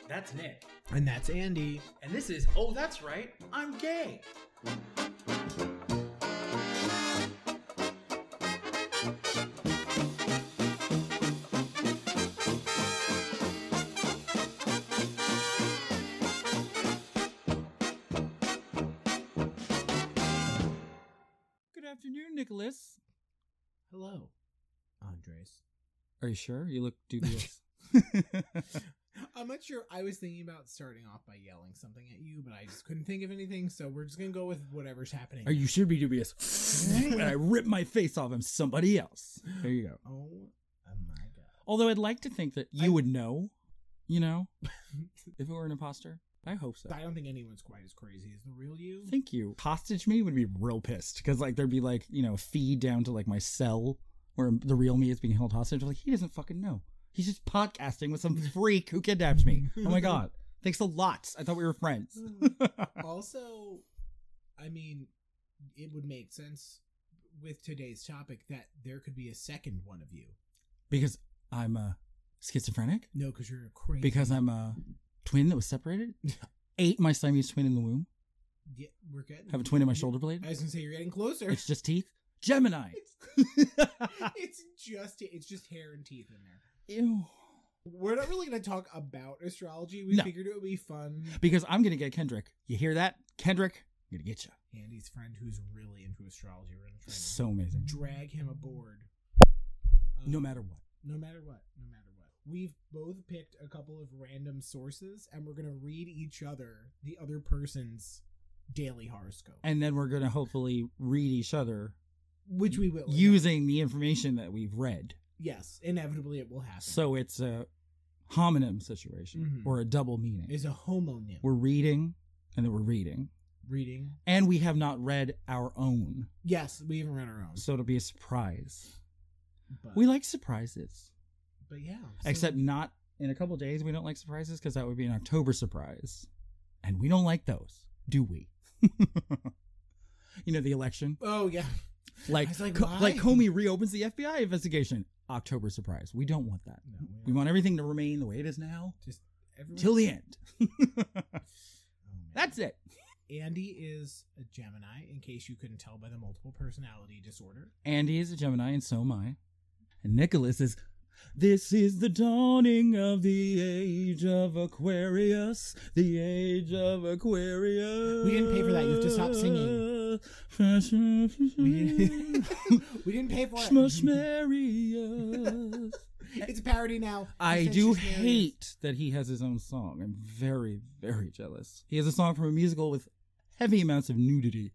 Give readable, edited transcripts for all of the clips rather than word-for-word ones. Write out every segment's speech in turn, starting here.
That's Nick. And that's Andy. And this is Oh, That's Right, I'm Gay. Good afternoon, Nicholas. Hello, Andres. Are you sure? You look dubious. I'm not sure. I was thinking about starting off by yelling something at you, but I just couldn't think of anything, so we're just going to go with whatever's happening. Or you should be dubious. When I rip my face off, I'm somebody else. There you go. Oh my God. Although I'd like to think that you would know, if it were an imposter. I hope so. I don't think anyone's quite as crazy as the real you. Thank you. Hostage me would be real pissed because there'd be a feed down to my cell where the real me is being held hostage. He doesn't fucking know. He's just podcasting with some freak who kidnapped me. Oh my God. Thanks a lot. I thought we were friends. Also, I mean, it would make sense with today's topic that there could be a second one of you. Because I'm schizophrenic? No, because you're crazy. Because I'm a twin that was separated? Ate my Siamese twin in the womb? Yeah, we're good. Have a twin in my shoulder blade? I was going to say, you're getting closer. It's just teeth? Gemini! It's just hair and teeth in there. Ew. We're not really going to talk about astrology. We figured it would be fun. Because I'm going to get Kendrick. You hear that? Kendrick, I'm going to get you. Andy's friend who's really into astrology. We're going to try to So amazing. drag him aboard. No matter what. No matter what. We've both picked a couple of random sources, and we're going to read each other the other person's daily horoscope. And then we're going to hopefully read each other. Which we will. Using the information that we've read. Yes, inevitably it will happen. So it's a homonym situation or a double meaning. It's a homonym. We're reading, and then we're reading. Reading. And we have not read our own. Yes, we haven't read our own. So it'll be a surprise. But, we like surprises. But yeah. Except not in a couple of days we don't like surprises because that would be an October surprise. And we don't like those, do we? The election. Oh, yeah. Like Comey reopens the FBI investigation. October surprise. We don't want that. No, we want everything to remain the way it is now. Just till the end. That's it. Andy is a Gemini, in case you couldn't tell by the multiple personality disorder. Andy is a Gemini, and so am I. And Nicholas is... This is the dawning of the age of Aquarius. The age of Aquarius. We didn't pay for that. You have to stop singing. We didn't pay for it. Schmushmarius. It's a parody now. I do hate that he has his own song. I'm very, very jealous. He has a song from a musical with heavy amounts of nudity.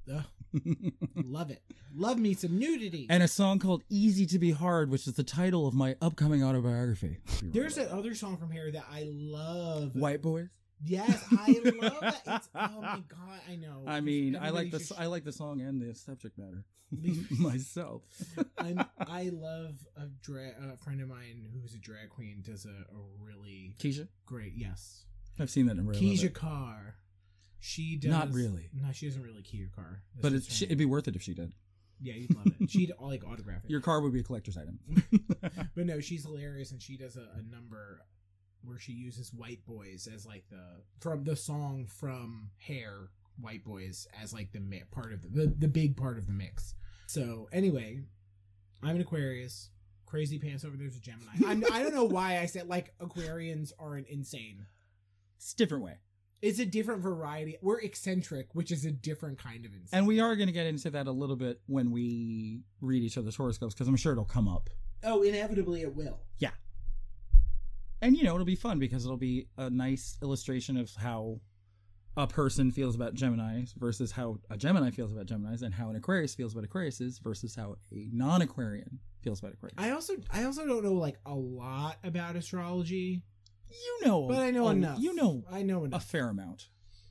Love it. Love me some nudity. And a song called Easy to Be Hard, which is the title of my upcoming autobiography. There's another song from here that I love. White Boys? Yes, I love that. Oh my God, I know. I mean, I like the song and the subject matter myself. I love a friend of mine who's a drag queen does a really Keisha? Great, yes. I've seen that in real life. Keisha Carr. She does not really. No, she doesn't really key your car. But it'd be worth it if she did. Yeah, you'd love it. She'd autograph it. Your car would be a collector's item. But no, she's hilarious, and she does a number where she uses White Boys as from the song from Hair, White Boys as the part of the big part of the mix. So anyway, I'm an Aquarius. Crazy Pants over there's a Gemini. I don't know why I said Aquarians aren't insane. It's a different way. It's a different variety. We're eccentric, which is a different kind of insane. And we are going to get into that a little bit when we read each other's horoscopes, because I'm sure it'll come up. Oh, inevitably it will. Yeah. And, it'll be fun because it'll be a nice illustration of how a person feels about Geminis versus how a Gemini feels about Geminis, and how an Aquarius feels about Aquariuses versus how a non-Aquarian feels about Aquarius. I also don't know a lot about astrology. But I know enough. I know enough. A fair amount.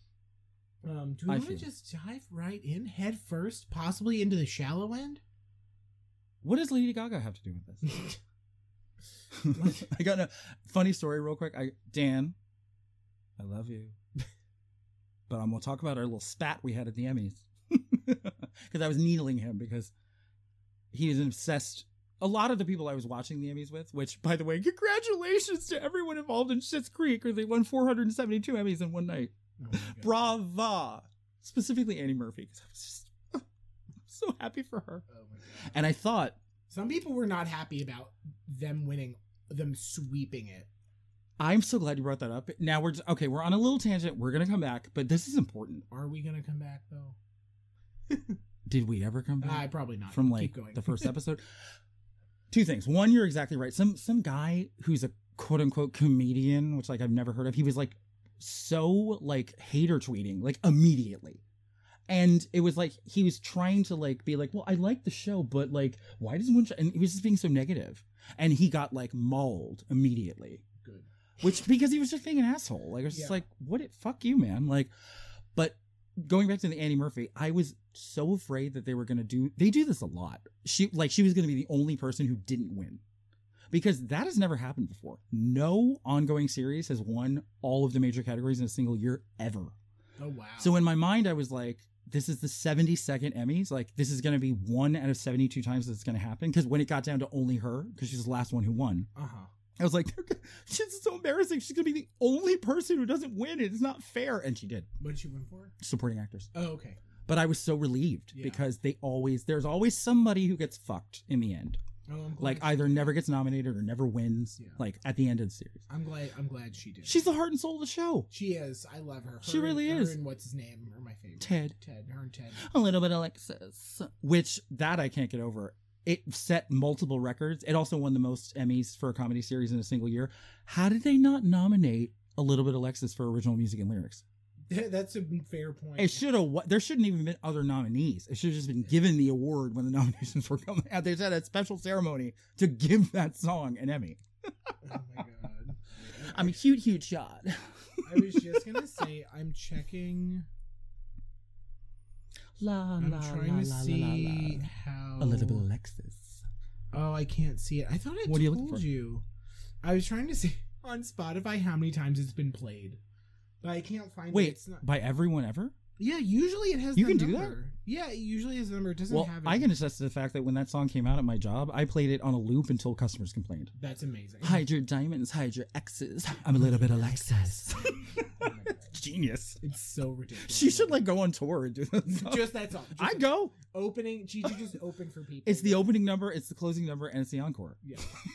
Do we want to just dive right in, head first, possibly into the shallow end? What does Lady Gaga have to do with this? I got a funny story real quick. Dan, I love you. But I'm going to talk about our little spat we had at the Emmys. Because I was needling him because he is an obsessed a lot of the people I was watching the Emmys with, which, by the way, congratulations to everyone involved in Schitt's Creek, or they won 472 Emmys in one night. Oh my God. Brava! Specifically Annie Murphy, because I was just so happy for her. Oh my God. And I thought, Some people were not happy about them winning, them sweeping it. I'm so glad you brought that up. Now we're on a little tangent. We're going to come back, but this is important. Are we gonna come back though? Did we ever come back? Probably not. From Keep like going. the first episode? Two things. One, you're exactly right. Some guy who's a quote unquote comedian, which like I've never heard of, he was like so like hater tweeting like immediately. And it was like he was trying to like be like, well, I like the show, but like, why doesn't one? And he was just being so negative, and he got like mauled immediately. Good. Which because he was just being an asshole. Like I was just Yeah. like, what? Fuck you, man. Like, but going back to the Annie Murphy, I was so afraid that they were gonna do. They do this a lot. She was gonna be the only person who didn't win, because that has never happened before. No ongoing series has won all of the major categories in a single year ever. Oh wow. So in my mind, I was like, this is the 72nd Emmys. Like, this is going to be 1 out of 72 times that it's going to happen. Because when it got down to only her, because she's the last one who won, I was like, she's so embarrassing. She's going to be the only person who doesn't win. It's not fair. And she did. What did she win for? Supporting actors. Oh, okay. But I was so relieved Yeah. because there's always somebody who gets fucked in the end. Oh, I'm glad Like, she either did. never gets nominated or never wins. Yeah. Like, at the end of the series. I'm glad she did. She's the heart and soul of the show. She is. I love her. She really her is. And what's his name? Are my favorite. Ted. Her and Ted. A little bit Alexis, which that I can't get over. It set multiple records. It also won the most Emmys for a comedy series in a single year. How did they not nominate A Little Bit Alexis for original music and lyrics? That's a fair point. It should have. There shouldn't even been other nominees. It should have just been given the award when the nominations were coming out. They had a special ceremony to give that song an Emmy. Oh my God. I'm a huge shot. I was just gonna say I'm checking. I'm trying to see how. A Little Bit Alexis. Oh, I can't see it. I thought I What are you looking told for? you. I was trying to see on Spotify how many times it's been played, but I can't find it. Wait, It's not. by everyone ever? Yeah, usually it has. You the can do that? number. Yeah, it usually has the number. It doesn't Well, have. It. I can attest to the fact that when that song came out at my job, I played it on a loop until customers complained. That's amazing. Hide your diamonds, hide your X's. I'm a little bit Alexis. Oh my God. Genius. It's so ridiculous. She should like go on tour and do that. just that song. Just I go. opening. She should just open for people. It's the opening number, it's the closing number, and it's the encore. Yeah.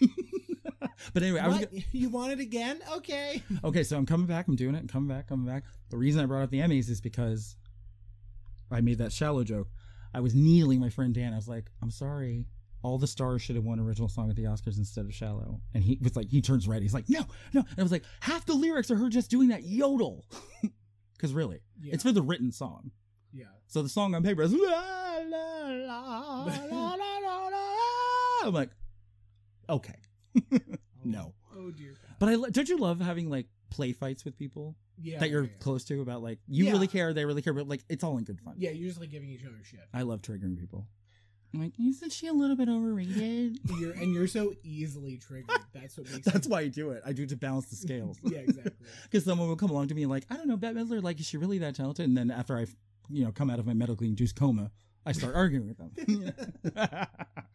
But anyway, I was What? You want it again? Okay. okay. So I'm coming back. I'm doing it. Coming back. The reason I brought up the Emmys is because I made that shallow joke. I was needling my friend Dan. I was like, I'm sorry. All the stars should have won original song at the Oscars instead of Shallow. And he was like, he turns red. He's like, no. And I was like, half the lyrics are her just doing that yodel. Because really, Yeah. it's for the written song. Yeah. So the song on paper is la la la la la la la. I'm like, okay, no. Oh dear God. But don't you love having like play fights with people Yeah. that you're yeah. close to about like you Yeah. really care, they really care, but like it's all in good fun. Yeah, you're just like giving each other shit. I love triggering people. I'm like, isn't she a little bit overrated? You're so easily triggered. That's what makes. That's why I do it. I do it to balance the scales. Yeah, exactly. Because someone will come along to me and like, I don't know, Bette Midler, like, is she really that talented? And then after I, come out of my medically induced coma, I start arguing with them.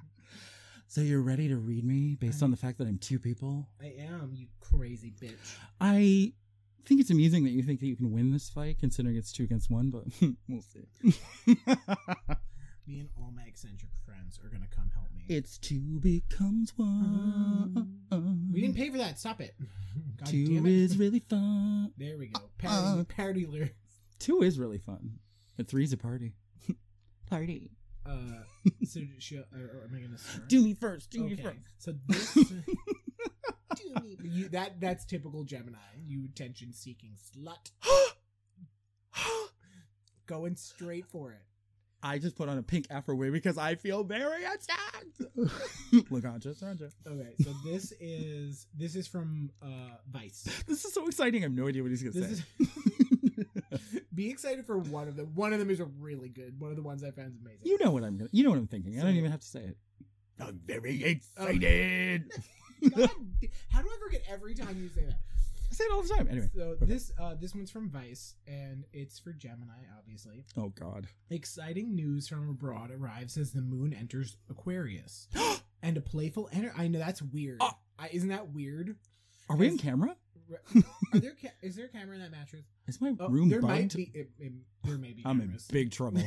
So you're ready to read me based on the fact that I'm two people? I am, you crazy bitch. I think it's amusing that you think that you can win this fight, considering it's 2 against 1, but we'll see. Me and all my eccentric friends are gonna come help me. It's 2 becomes 1. We didn't pay for that. Stop it. God 2 damn it. is really fun. There we go. Parody lyrics. 2 is really fun. But 3's a party. Party. So or am I gonna start? Do me first. Do me Okay. first. So this. Do me. That's typical Gemini. You attention-seeking slut. Going straight for it. I just put on a pink afro wig because I feel very attacked. Look on, just Sandra. Okay, so this is from Vice. This is so exciting. I have no idea what he's gonna This say. is. Be excited for one of them. One of them is a really good. One of the ones I found is amazing. You know what I'm thinking. I don't even have to say it. I'm very excited. God, how do I forget every time you say that? I say it all the time. Anyway. So Okay. this one's from Vice, and it's for Gemini, obviously. Oh God. Exciting news from abroad arrives as the moon enters Aquarius. And a playful I know that's weird. Isn't that weird? Are we in camera? Is there a camera in that mattress? Is my room there bugged? might be. There may be. I'm in cameras. big trouble.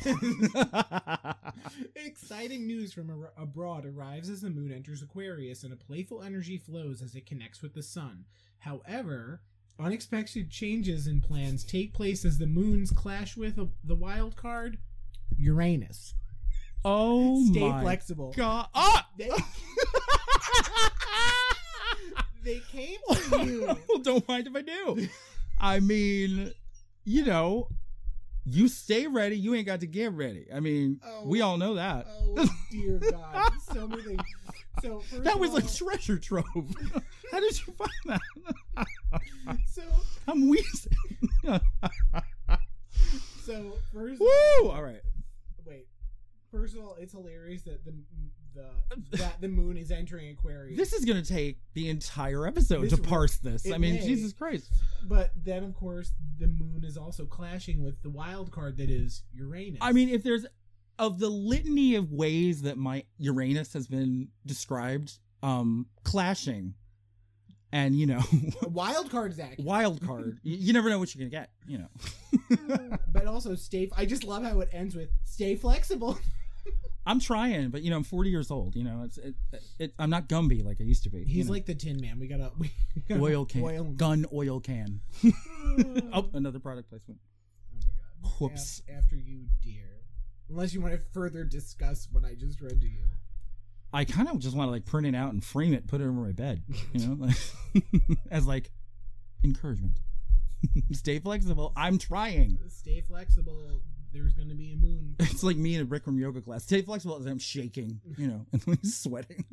Exciting news from abroad arrives as the moon enters Aquarius, and a playful energy flows as it connects with the sun. However, unexpected changes in plans take place as the moons clash with the wild card, Uranus. Oh Stay my flexible. God! They came to you. Well, don't mind if I do. I mean, you stay ready. You ain't got to get ready. I mean, we all know that. Oh dear God! So many things. So first That of was all, a treasure trove. How did you find that? So I'm wheezing. so first. Woo! All right. Wait. First of all, it's hilarious that the moon is entering Aquarius. This is gonna take the entire episode to parse this. I mean, Jesus Christ. But then, of course, the moon is also clashing with the wild card that is Uranus. I mean, if there's of the litany of ways that my Uranus has been described, clashing, and wild card is accurate. wild card. You never know what you're gonna get. But also I just love how it ends with stay flexible. I'm trying, but I'm 40 years old. I'm not Gumby like I used to be. He's like the Tin Man. We gotta oil can, gun oil can. Oh, another product placement. Oh my God! Whoops. After you, dear. Unless you want to further discuss what I just read to you. I kind of just want to print it out and frame it, put it over my bed, as encouragement. Stay flexible. I'm trying. Stay flexible. There's going to be a moon. It's like me in a Bikram yoga class. Stay flexible as I'm shaking, and sweating.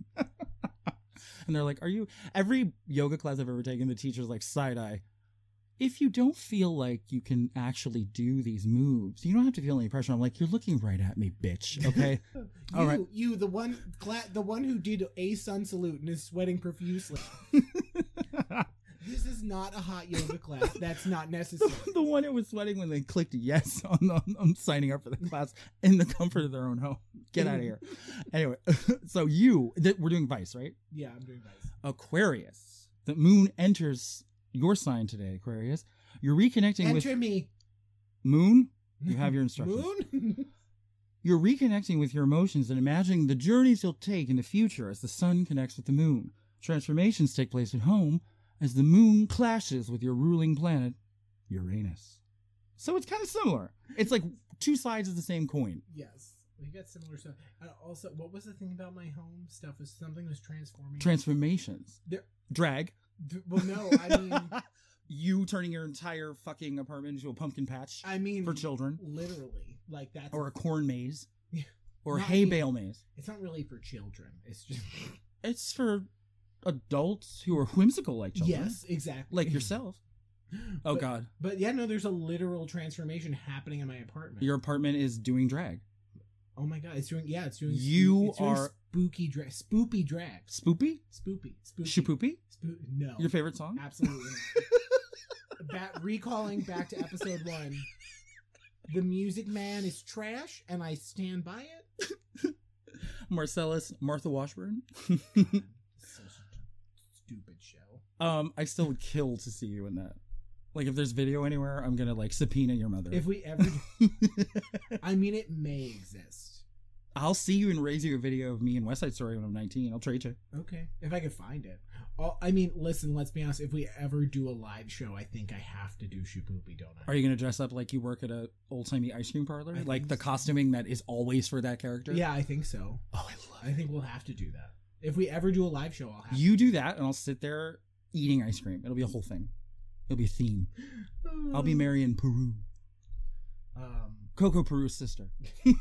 And they're like, every yoga class I've ever taken, the teacher's like, side eye. If you don't feel like you can actually do these moves, you don't have to feel any pressure. I'm like, you're looking right at me, bitch. Okay. All right. You, the one who did a sun salute and is sweating profusely. This is not a hot yoga class. That's not necessary. The one who was sweating when they clicked yes on signing up for the class in the comfort of their own home. Get out of here. Anyway, so we're doing Vice, right? Yeah, I'm doing Vice. Aquarius. The moon enters your sign today, Aquarius. You're reconnecting with... Enter me. Moon? You have your instructions. Moon? You're reconnecting with your emotions and imagining the journeys you'll take in the future as the sun connects with the moon. Transformations take place at home as the moon clashes with your ruling planet, Uranus. So it's kind of similar. It's like two sides of the same coin. Yes. We got similar stuff. Also, what was the thing about my home stuff? Was something was transforming? Transformations. Drag. Well, no, I mean... You turning your entire fucking apartment into a pumpkin patch. I mean... For children. Literally. Like that's... Or a corn maze. Yeah. Or a hay bale maze. It's not really for children. It's just... It's for adults who are whimsical like children. Yes, exactly. Like yourself. Oh, God. But yeah, no, there's a literal transformation happening in my apartment. Your apartment is doing drag. Oh my God, it's doing You are spooky drag. Spoopy drag. Spoopy? Spoopy. Shapoopy? No. Your favorite song? Absolutely not. Recalling back to episode 1. The Music Man is trash, and I stand by it. Marcellus, Martha Washburn. Stupid show. I still would kill to see you in that. Like, if there's video anywhere, I'm gonna subpoena your mother. If we ever, I mean, it may exist. I'll see you and raise you a video of me in West Side Story when I'm 19. I'll trade you. Okay, if I could find it. I mean, listen. Let's be honest. If we ever do a live show, I think I have to do Shapoopy, don't I? Are you gonna dress up like you work at a old timey ice cream parlor, like the costuming that is always for that character? Yeah, I think so. Oh, I think we'll have to do that. If we ever do a live show, I'll have you do that, and I'll sit there eating ice cream. It'll be a whole thing. It'll be a theme. I'll be Marion Peru. Coco Peru's sister.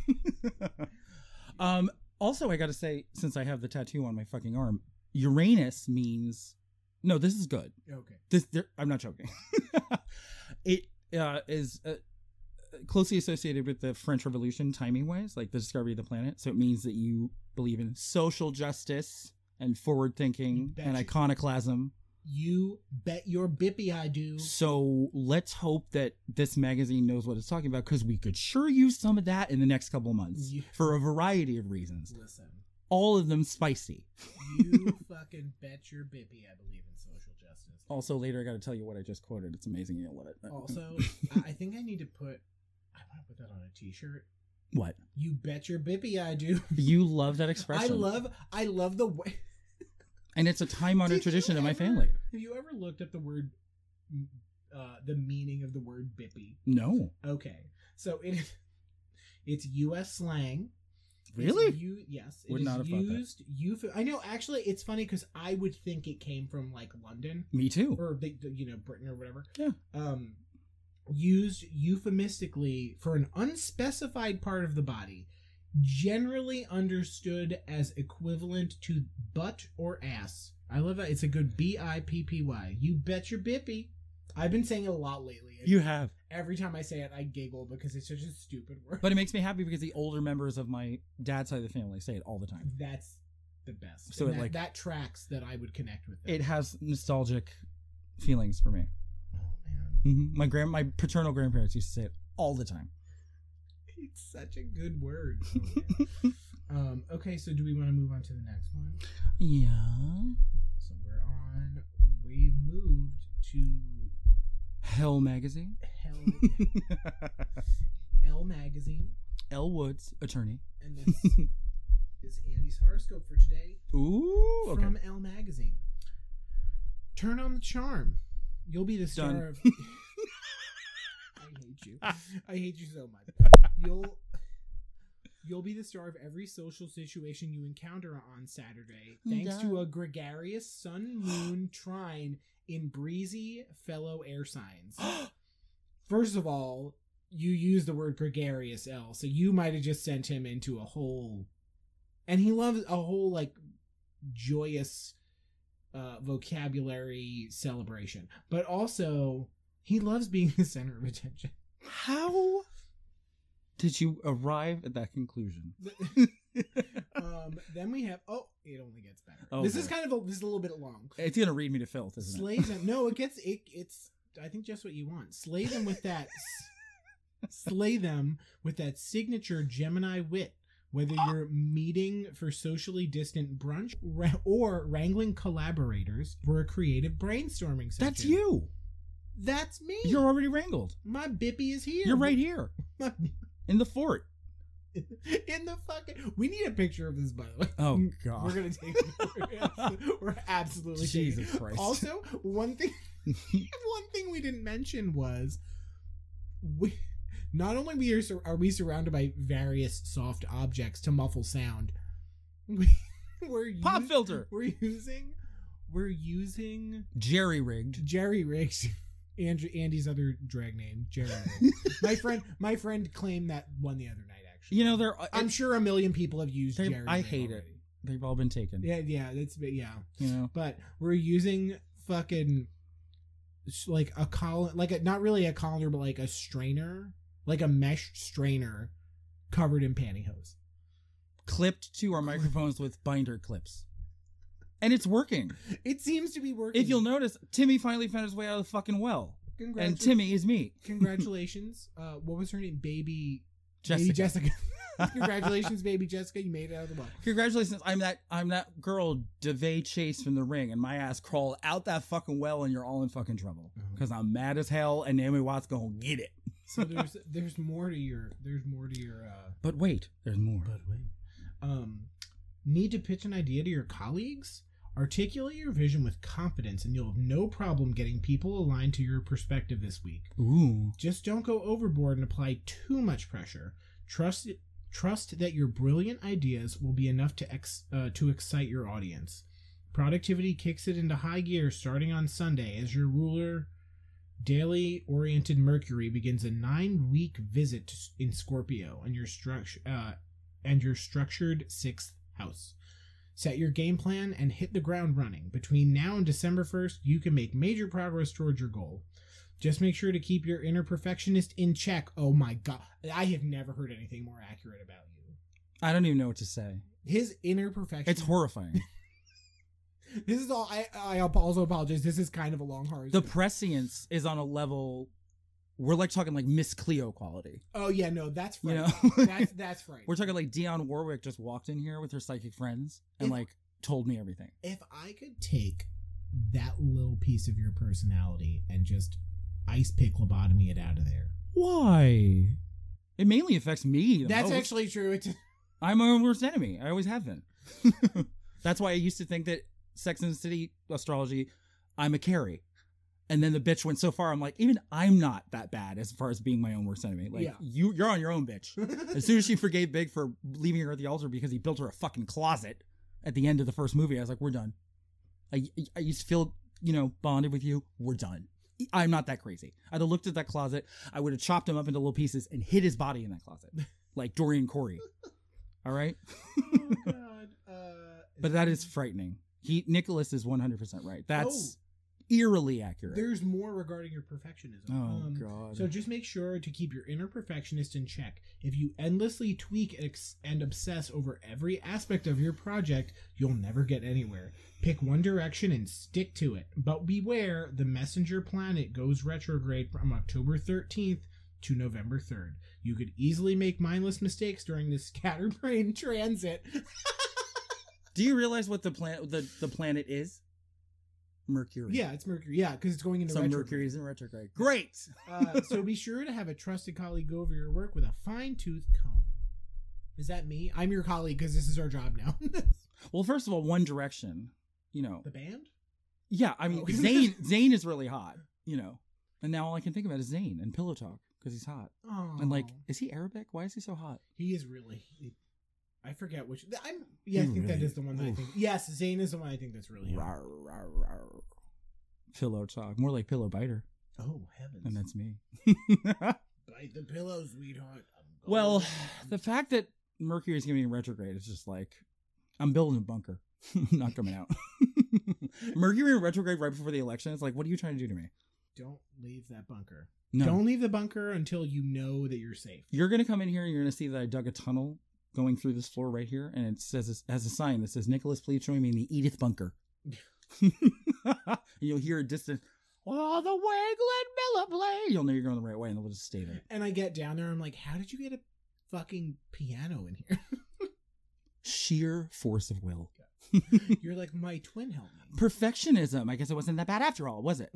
Also, I gotta say, since I have the tattoo on my fucking arm, Uranus means... No, this is good. Okay. I'm not joking. It is closely associated with the French Revolution timing-wise, like the discovery of the planet. So it means that you believe in social justice and forward-thinking and iconoclasm. You bet your bippy I do. So let's hope that this magazine knows what it's talking about, because we could sure use some of that in the next couple of months for a variety of reasons. Listen, all of them spicy. You fucking bet your bippy I believe in social justice. Also, later I got to tell you what I just quoted. It's amazing. You'll love it. Also, I think I need to put... I want to put that on a t-shirt. What? You bet your bippy I do. You love that expression. I love the way... And it's a time-honored Did tradition you in my ever- family. Have you ever looked up the word... the meaning of the word bippy? No. Okay. So it's U.S. slang. Really? Yes. Would not have thought that. I know. Actually, it's funny because I would think it came from like London Me too. or Britain or whatever. Yeah. Used euphemistically for an unspecified part of the body, generally understood as equivalent to butt or ass. I love that. It's a good bippy. You bet your bippy. I've been saying it a lot lately. You have. Every time I say it, I giggle because it's such a stupid word. But it makes me happy because the older members of my dad's side of the family say it all the time. That's the best. So And that tracks that I would connect with them. It has nostalgic feelings for me. Oh man, My paternal grandparents used to say it all the time. it's such a good word. Oh, man. Okay, so do we want to move on to the next one? Yeah. So we've moved to Hell Magazine. Elle Magazine. Elle Woods, attorney. And this is Andy's horoscope for today Ooh, okay. from Elle Magazine. Turn on the charm. You'll be the star Done. of... I hate you. I hate you so much. You'll be the star of every social situation you encounter on Saturday, thanks to a gregarious sun-moon trine in breezy fellow air signs. First of all, you use the word gregarious, Elle, so you might have just sent him into a whole... And he loves a whole, like, joyous vocabulary celebration. But also, he loves being the center of attention. How did you arrive at that conclusion? Then we have... Oh, it only gets better. Oh, this boy. is this is a little bit long. It's going to read me to filth, isn't Slay them. No, it's I think just what you want. Slay them with that signature Gemini wit. Whether you're meeting for socially distant brunch or wrangling collaborators for a creative brainstorming session. That's you. That's me. You're already wrangled. My bippy is here. You're right here in the fort. In the fucking... We need a picture of this, by the way. Oh, God. We're going to take it. We're absolutely taking Jesus it. Christ. Also, one thing we didn't mention was not only are we surrounded by various soft objects to muffle sound, Pop filter. We're using Jerry-rigged. Andy's other drag name, Jerry. my friend claimed that one the other night. Actually, You know, I'm sure a million people have used Jerry. I hate it. They've all been taken. Yeah, yeah. You know, But we're using fucking like a collar, not really a collar, but like a strainer, like a mesh strainer covered in pantyhose. clipped to our microphones with binder clips. And it's working. It seems to be working. If you'll notice, Timmy finally found his way out of the fucking well. And Timmy is me. Congratulations. What was her name? Baby Jessica. Jessica. Congratulations, baby Jessica. You made it out of the well. Congratulations. I'm that girl, DeVay Chase from The Ring, and my ass crawled out that fucking well, and you're all in fucking trouble. Because I'm mad as hell, and Naomi Watts gonna get it. So there's more to your But wait, there's more. Need to pitch an idea to your colleagues? Articulate your vision with confidence and you'll have no problem getting people aligned to your perspective this week. Ooh. Just don't go overboard and apply too much pressure. Trust that your brilliant ideas will be enough to excite your audience. Productivity kicks it into high gear starting on Sunday as your ruler, daily-oriented Mercury begins a 9-week visit in Scorpio and your structured 6th house. Set your game plan and hit the ground running. Between now and December 1st, you can make major progress towards your goal. Just make sure to keep your inner perfectionist in check. Oh my god, I have never heard anything more accurate about you. I don't even know what to say. His inner perfectionist. It's horrifying. This is all. I also apologize. This is kind of a long horror. The prescience is on a level we're like talking like Miss Cleo quality. Oh yeah, no, that's You frightening. know? That's right. We're talking like Dionne Warwick just walked in here with her psychic friends and If- like told me everything. If I could take that little piece of your personality and just ice pick lobotomy it out of there. Why? It mainly affects me. That's most. actually true. I'm my own worst enemy. I always have been. That's why I used to think that Sex and the City astrology, I'm a Carrie. And then the bitch went so far, I'm like, even I'm not that bad as far as being my own worst enemy. Like, Yeah. you're on your own, bitch. As soon as she forgave Big for leaving her at the altar because he built her a fucking closet at the end of the first movie, I was like, we're done. I used to feel, bonded with you. We're done. I'm not that crazy. I'd have looked at that closet. I would have chopped him up into little pieces and hid his body in that closet. Like Dorian Corey. All right? Oh, God. But that is frightening. Nicholas is 100% right. That's eerily accurate. There's more regarding your perfectionism. Oh, God. So just make sure to keep your inner perfectionist in check. If you endlessly tweak and obsess over every aspect of your project, you'll never get anywhere. Pick one direction and stick to it. But beware, the messenger planet goes retrograde from October 13th to November 3rd. You could easily make mindless mistakes during this scatterbrain transit. Do you realize what the planet is? Mercury. Yeah, it's Mercury. Yeah, because it's going into So retrograde. Mercury is in retrograde. Great. So be sure to have a trusted colleague go over your work with a fine-tooth comb. Is that me? I'm your colleague because this is our job now. Well, first of all, One Direction, The band? Yeah, I mean, Oh. Zayn is really hot, And now all I can think about is Zayn and Pillow Talk because he's hot. Oh. And like, is he Arabic? Why is he so hot? He is really... I forget which... I think that is the one that I think... Yes, Zayn is the one I think that's really hot. Rawr, rawr, rawr. Pillow Talk. More like Pillow Biter. Oh, heavens. And that's me. Bite the pillow, sweetheart. Well, the fact that Mercury is going to be in retrograde is just like, I'm building a bunker. I'm not coming out. Mercury in retrograde right before the election. It's like, what are you trying to do to me? Don't leave that bunker. No. Don't leave the bunker until you know that you're safe. You're going to come in here and you're going to see that I dug a tunnel going through this floor right here. And it says, it has a sign that says, Nicholas, please join me in the Edith bunker. And you'll hear a distant, oh, the way Glenn Miller play. You'll know you're going the right way and they'll just stay there. And I get down there, I'm like, how did you get a fucking piano in here? Sheer force of will. You're like, my twin helped me. Perfectionism. I guess it wasn't that bad after all, was it?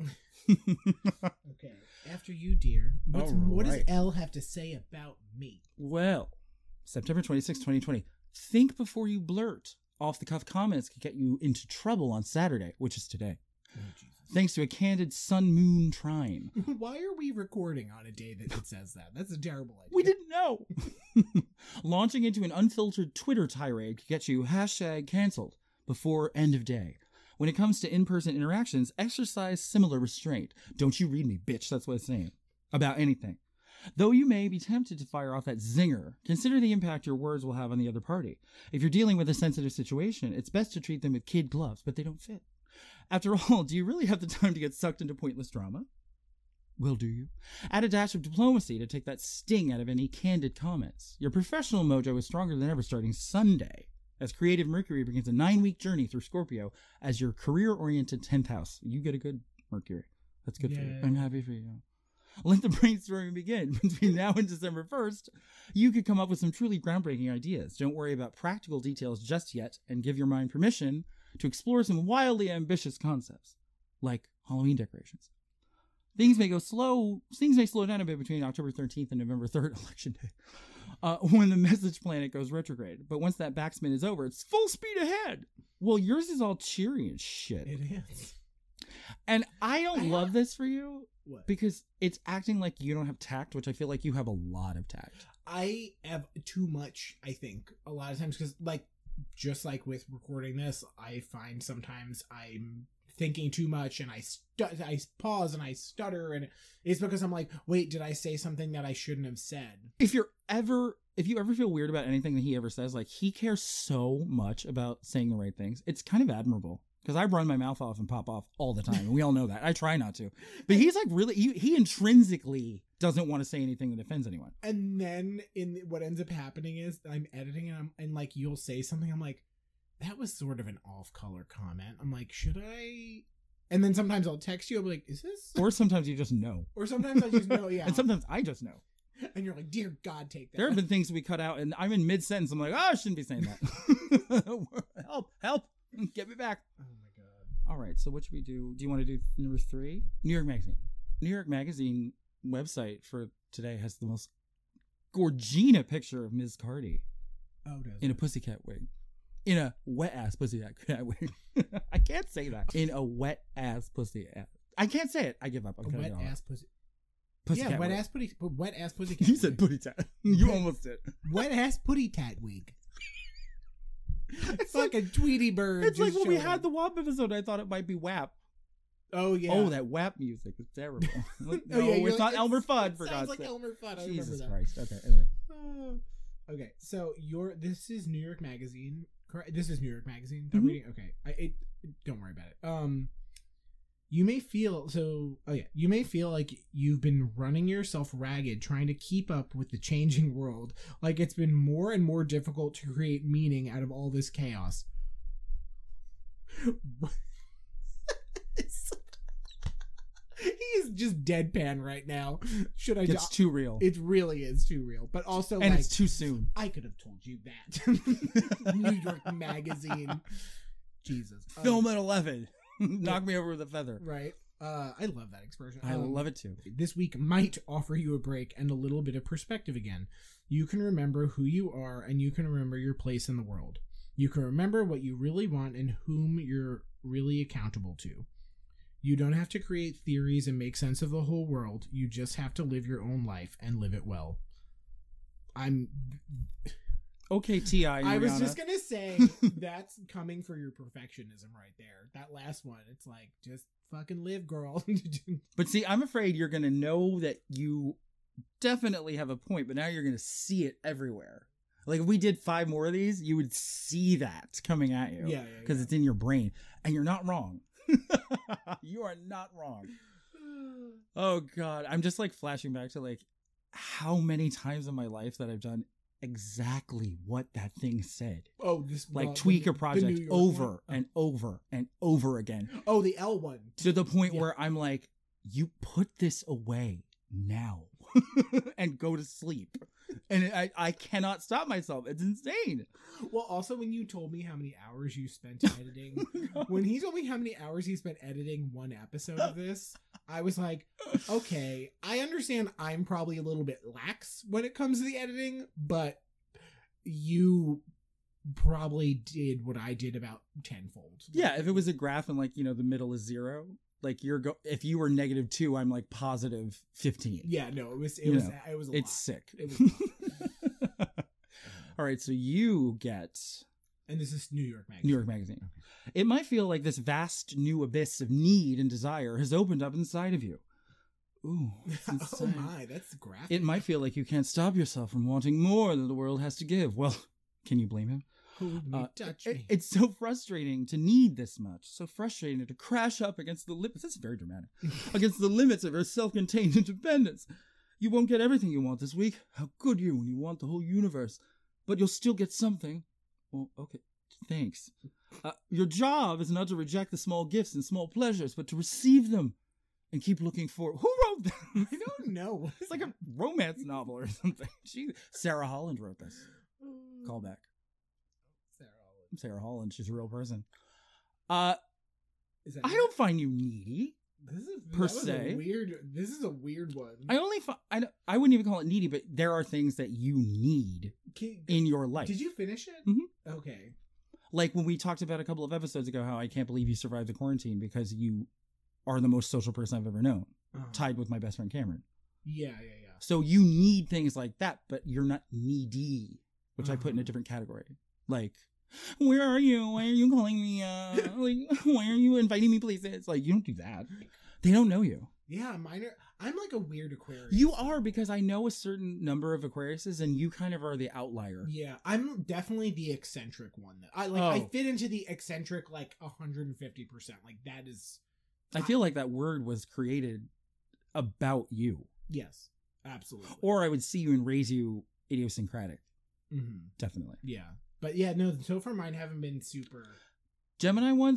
Okay, after you, dear. What does right. Elle have to say about me? Well, September 26, 2020. Think before you blurt. Off-the-cuff comments could get you into trouble on Saturday, which is today. Oh, Jesus. Thanks to a candid sun-moon trine. Why are we recording on a day that it says that? That's a terrible idea. We didn't know. Launching into an unfiltered Twitter tirade could get you #canceled before end of day. When it comes to in-person interactions, exercise similar restraint. Don't you read me, bitch. That's what it's saying. About anything. Though you may be tempted to fire off that zinger, consider the impact your words will have on the other party. If you're dealing with a sensitive situation, it's best to treat them with kid gloves, but they don't fit. After all, do you really have the time to get sucked into pointless drama? Well, do you? Add a dash of diplomacy to take that sting out of any candid comments. Your professional mojo is stronger than ever starting Sunday, as creative Mercury begins a 9-week journey through Scorpio as your career-oriented 10th house. You get a good Mercury. That's good for you. I'm happy for you. Let the brainstorming begin. Between now and December 1st, you could come up with some truly groundbreaking ideas. Don't worry about practical details just yet, and give your mind permission to explore some wildly ambitious concepts, like Halloween decorations. Things may slow down a bit between October 13th and November 3rd, election day, when the message planet goes retrograde. But once that backspin is over, it's full speed ahead. Well, yours is all cheery and shit. It is. And I don't love this for you. What? Because it's acting like you don't have tact, which I feel like you have a lot of tact. I have too much, I think, a lot of times, because, just like with recording this, I find sometimes I'm thinking too much and I pause and I stutter, and it's because I'm like, wait, did I say something that I shouldn't have said? If you ever feel weird about anything that he ever says, he cares so much about saying the right things. It's kind of admirable. Because I run my mouth off and pop off all the time, and we all know that. I try not to. But he's really, he intrinsically doesn't want to say anything that offends anyone. And then what ends up happening is I'm editing and you'll say something, I'm like, that was sort of an off-color comment. I'm like, should I? And then sometimes I'll text you. I'll be like, "Is this?" Or sometimes you just know. Or sometimes I just know. Yeah. And sometimes I just know. And you're like, "Dear God, take that." There have been things we cut out, and I'm in mid-sentence. I'm like, oh, I shouldn't be saying that. Help. Get me back. Oh my God. All right, so what should we do? Do you want to do number 3? New York Magazine. New York Magazine website for today has the most gorgina picture of Ms. Cardi Oh, does in a pussycat wig. In a wet-ass pussycat wig. I can't say that. In a wet-ass pussycat. I can't say it. I give up. I'm a cutting wet it off. ass pussy. Pussycat Yeah, wet wig. ass putty. But wet ass pussy. You said putty tat. You almost did. Wet ass putty tat wig. It's like a Tweety bird. It's like just when we showing had up. the WAP episode, I thought it might be WAP. Oh yeah. Oh, that WAP music is terrible. No, Oh, yeah, you're it's not like, Elmer Fudd, for sounds God's like sake. Elmer Fudd. I Jesus remember Christ. Okay, anyway. that. Okay, so this is New York Magazine. Correct. This is New York Magazine. I'm Mhm. reading. Okay, don't worry about it. You may feel you may feel like you've been running yourself ragged trying to keep up with the changing world, like it's been more and more difficult to create meaning out of all this chaos. He is just deadpan right now. Should I? It's too real. It really is too real, but also And like, it's too soon. I could have told you that. New York Magazine. Jesus. Film at 11. Knock me over with a feather. Right. I love that expression. I love it too. This week might offer you a break and a little bit of perspective again. You can remember who you are, and you can remember your place in the world. You can remember what you really want and whom you're really accountable to. You don't have to create theories and make sense of the whole world. You just have to live your own life and live it well. Okay, T.I. I was Rihanna. just going to say, that's coming for your perfectionism right there. That last one, it's like, just fucking live, girl. But see, I'm afraid you're going to know that you definitely have a point, but now you're going to see it everywhere. Like, if we did 5 more of these, you would see that coming at you. Yeah. Because it's in your brain. And you're not wrong. You are not wrong. Oh, God. I'm just, like, flashing back to, like, how many times in my life that I've done exactly what that thing said. Oh, this Like, tweak a the project New York over one? and over and over again. Oh, the L one. To the point Yeah. where I'm like, you put this away now and go to sleep. And I cannot stop myself. It's insane. Well, also when you told me how many hours you spent editing, when he told me how many hours he spent editing one episode of this, I was like, okay, I understand I'm probably a little bit lax when it comes to the editing, but you probably did what I did about tenfold. Yeah, if it was a graph and, like, you know, the middle is 0, like, if you were -2, I'm like +15. Yeah, no, it was You a it's lot. sick. It was a lot. All right, so you get And this is New York Magazine. New York Magazine. It might feel like this vast new abyss of need and desire has opened up inside of you. Ooh, that's Oh insane. my, that's graphic. It might feel like you can't stop yourself from wanting more than the world has to give. Well, can you blame him? Hold me, touch me. It's so frustrating to need this much. So frustrating to crash up against the limits. This is very dramatic. Against the limits of your self-contained independence. You won't get everything you want this week. How could you when you want the whole universe? But you'll still get something. Well, okay. Thanks. Your job is not to reject the small gifts and small pleasures, but to receive them and keep looking for. Who wrote that? I don't know. It's like a romance novel or something. Sarah Holland wrote this. Callback. Sarah Holland. She's a real person. Is that I don't find you needy. per that was se. This is a weird one. I wouldn't even call it needy, but there are things that you need in your life. Did you finish it? Mhm. Okay. Like when we talked about a couple of episodes ago, how I can't believe you survived the quarantine because you are the most social person I've ever known, tied with my best friend Cameron. Yeah. So you need things like that, but you're not needy, which I put in a different category. Like, where are you? Why are you calling me? Like, why are you inviting me places? Like, you don't do that. They don't know you. Yeah, I'm like a weird Aquarius. You are, because I know a certain number of Aquariuses, and you kind of are the outlier. Yeah, I'm definitely the eccentric one. I fit into the eccentric like 150%. Like that is. I feel like that word was created about you. Yes, absolutely. Or I would see you and raise you idiosyncratic. Mm-hmm. Definitely. Yeah, but yeah, no. So far, mine haven't been super. Gemini ones will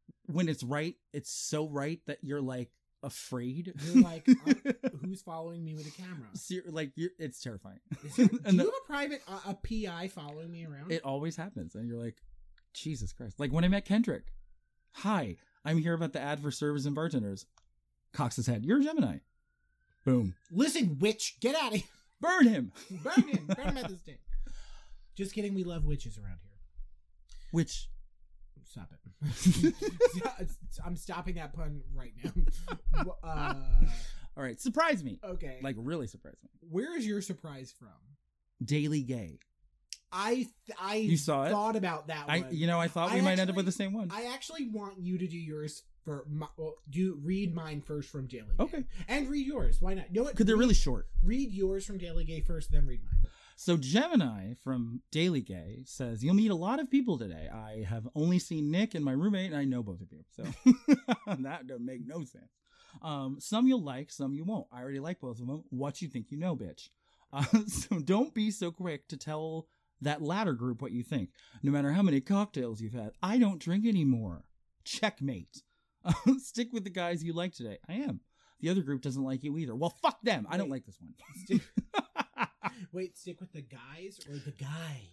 when it's right, it's so right that you're like afraid. You're like, who's following me with a camera? It's terrifying. Do you And have a private, a PI following me around? it always happens. And you're like, Jesus Christ. Like when I met Kendrick. Hi, I'm here about the ad for servers and bartenders. Cocks his head. You're a Gemini. Boom. Listen, witch, get out of here. Burn him. Burn him. Burn him at the stake. Just kidding. We love witches around here. Which... Stop it. I'm stopping that pun right now. All right. Surprise me. Okay. Like really surprise me. Where is your surprise from? Daily Gay. I You saw it? thought about that one. I thought we might end up with the same one. I actually want you to do yours read mine first from Daily Gay. Okay. And read yours. Why not? Because they're really short. Read yours from Daily Gay first, then read mine. So Gemini from Daily Gay says, you'll meet a lot of people today. I have only seen Nick and my roommate, and I know both of you. So that doesn't make no sense. Some you'll like, some you won't. I already like both of them. What you think you know, bitch. So don't be so quick to tell that latter group what you think. No matter how many cocktails you've had, I don't drink anymore. Checkmate. Stick with the guys you like today. I am. The other group doesn't like you either. Well, fuck them. I don't like this one. Wait, stick with the guys or the guys?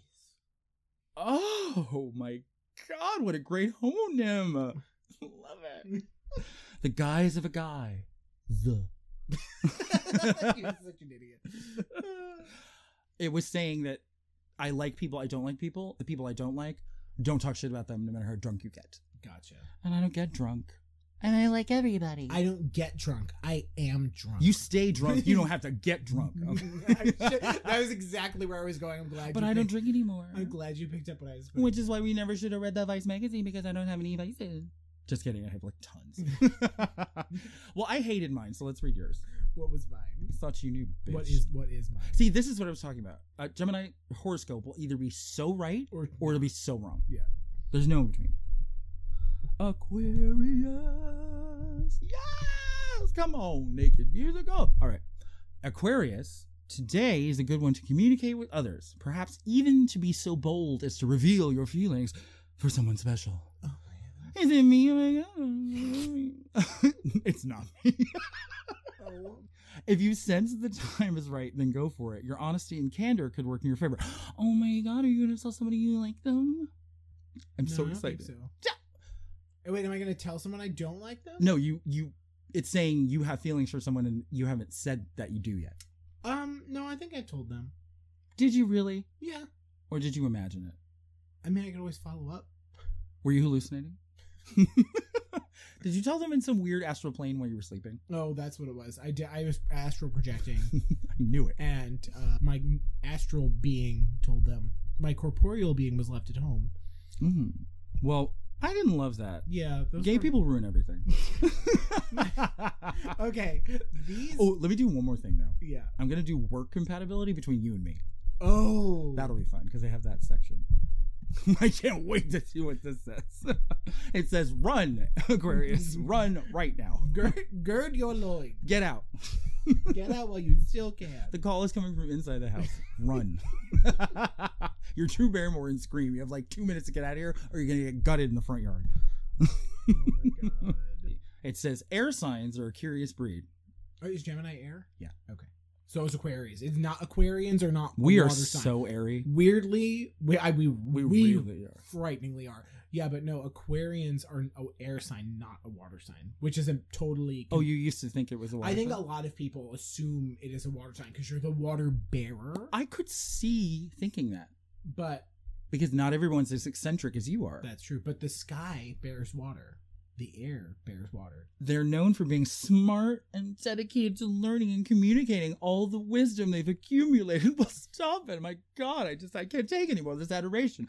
Oh my God, what a great homonym. Love it. The guise of a guy. The. You're such an idiot. It was saying that I like people, I don't like people. The people I don't like, don't talk shit about them no matter how drunk you get. Gotcha. And I don't get drunk. And I like everybody. I don't get drunk. I am drunk. You stay drunk. You don't have to get drunk. Okay? That was exactly where I was going. I'm glad. But I don't drink anymore. I'm glad you picked up what I was. Which is why we never should have read that Vice magazine, because I don't have any vices. Just kidding. I have like tons. Well, I hated mine, so let's read yours. What was mine? I thought you knew, bitch. What is mine? See, this is what I was talking about. Gemini horoscope will either be so right or it'll be so wrong. Yeah. There's no in between. Aquarius. Yes! Come on, naked music. Oh. All right. Aquarius, today is a good one to communicate with others. Perhaps even to be so bold as to reveal your feelings for someone special. Oh, is it me? Oh my God. It's not me. Oh. If you sense the time is right, then go for it. Your honesty and candor could work in your favor. Oh my God, are you going to tell somebody you like them? I'm so excited. I don't think so. Wait, am I going to tell someone I don't like them? No, you. It's saying you have feelings for someone and you haven't said that you do yet. No, I think I told them. Did you really? Yeah. Or did you imagine it? I mean, I could always follow up. Were you hallucinating? Did you tell them in some weird astral plane while you were sleeping? Oh, that's what it was. I was astral projecting. I knew it. And my astral being told them. My corporeal being was left at home. Mm-hmm. Well, I didn't love that. Yeah. Gay people ruin everything. Okay. Oh, let me do one more thing, though. Yeah. I'm going to do work compatibility between you and me. Oh. That'll be fun, because they have that section. I can't wait to see what this says. It says, run, Aquarius. Run right now. Gird your loins. Get out. Get out while you still can. The call is coming from inside the house. Run. You're Drew Barrymore in Scream. You have like 2 minutes to get out of here, or you're going to get gutted in the front yard. Oh my God. It says, air signs are a curious breed. Oh, is Gemini air? Yeah. Okay. So is Aquarius. It's not, Aquarians are not. We are water sign. so airy. Weirdly, we really are. Frighteningly are. Yeah, but no, Aquarians are an air sign, not a water sign, which is a totally. Oh, you used to think it was a water I think sign? a lot of people assume it is a water sign because you're the water bearer. I could see thinking that. But. Because not everyone's as eccentric as you are. That's true. But the sky bears water. The air bears water. They're known for being smart and dedicated to learning and communicating all the wisdom they've accumulated. Well, stop it. My God, I can't take anymore this adoration.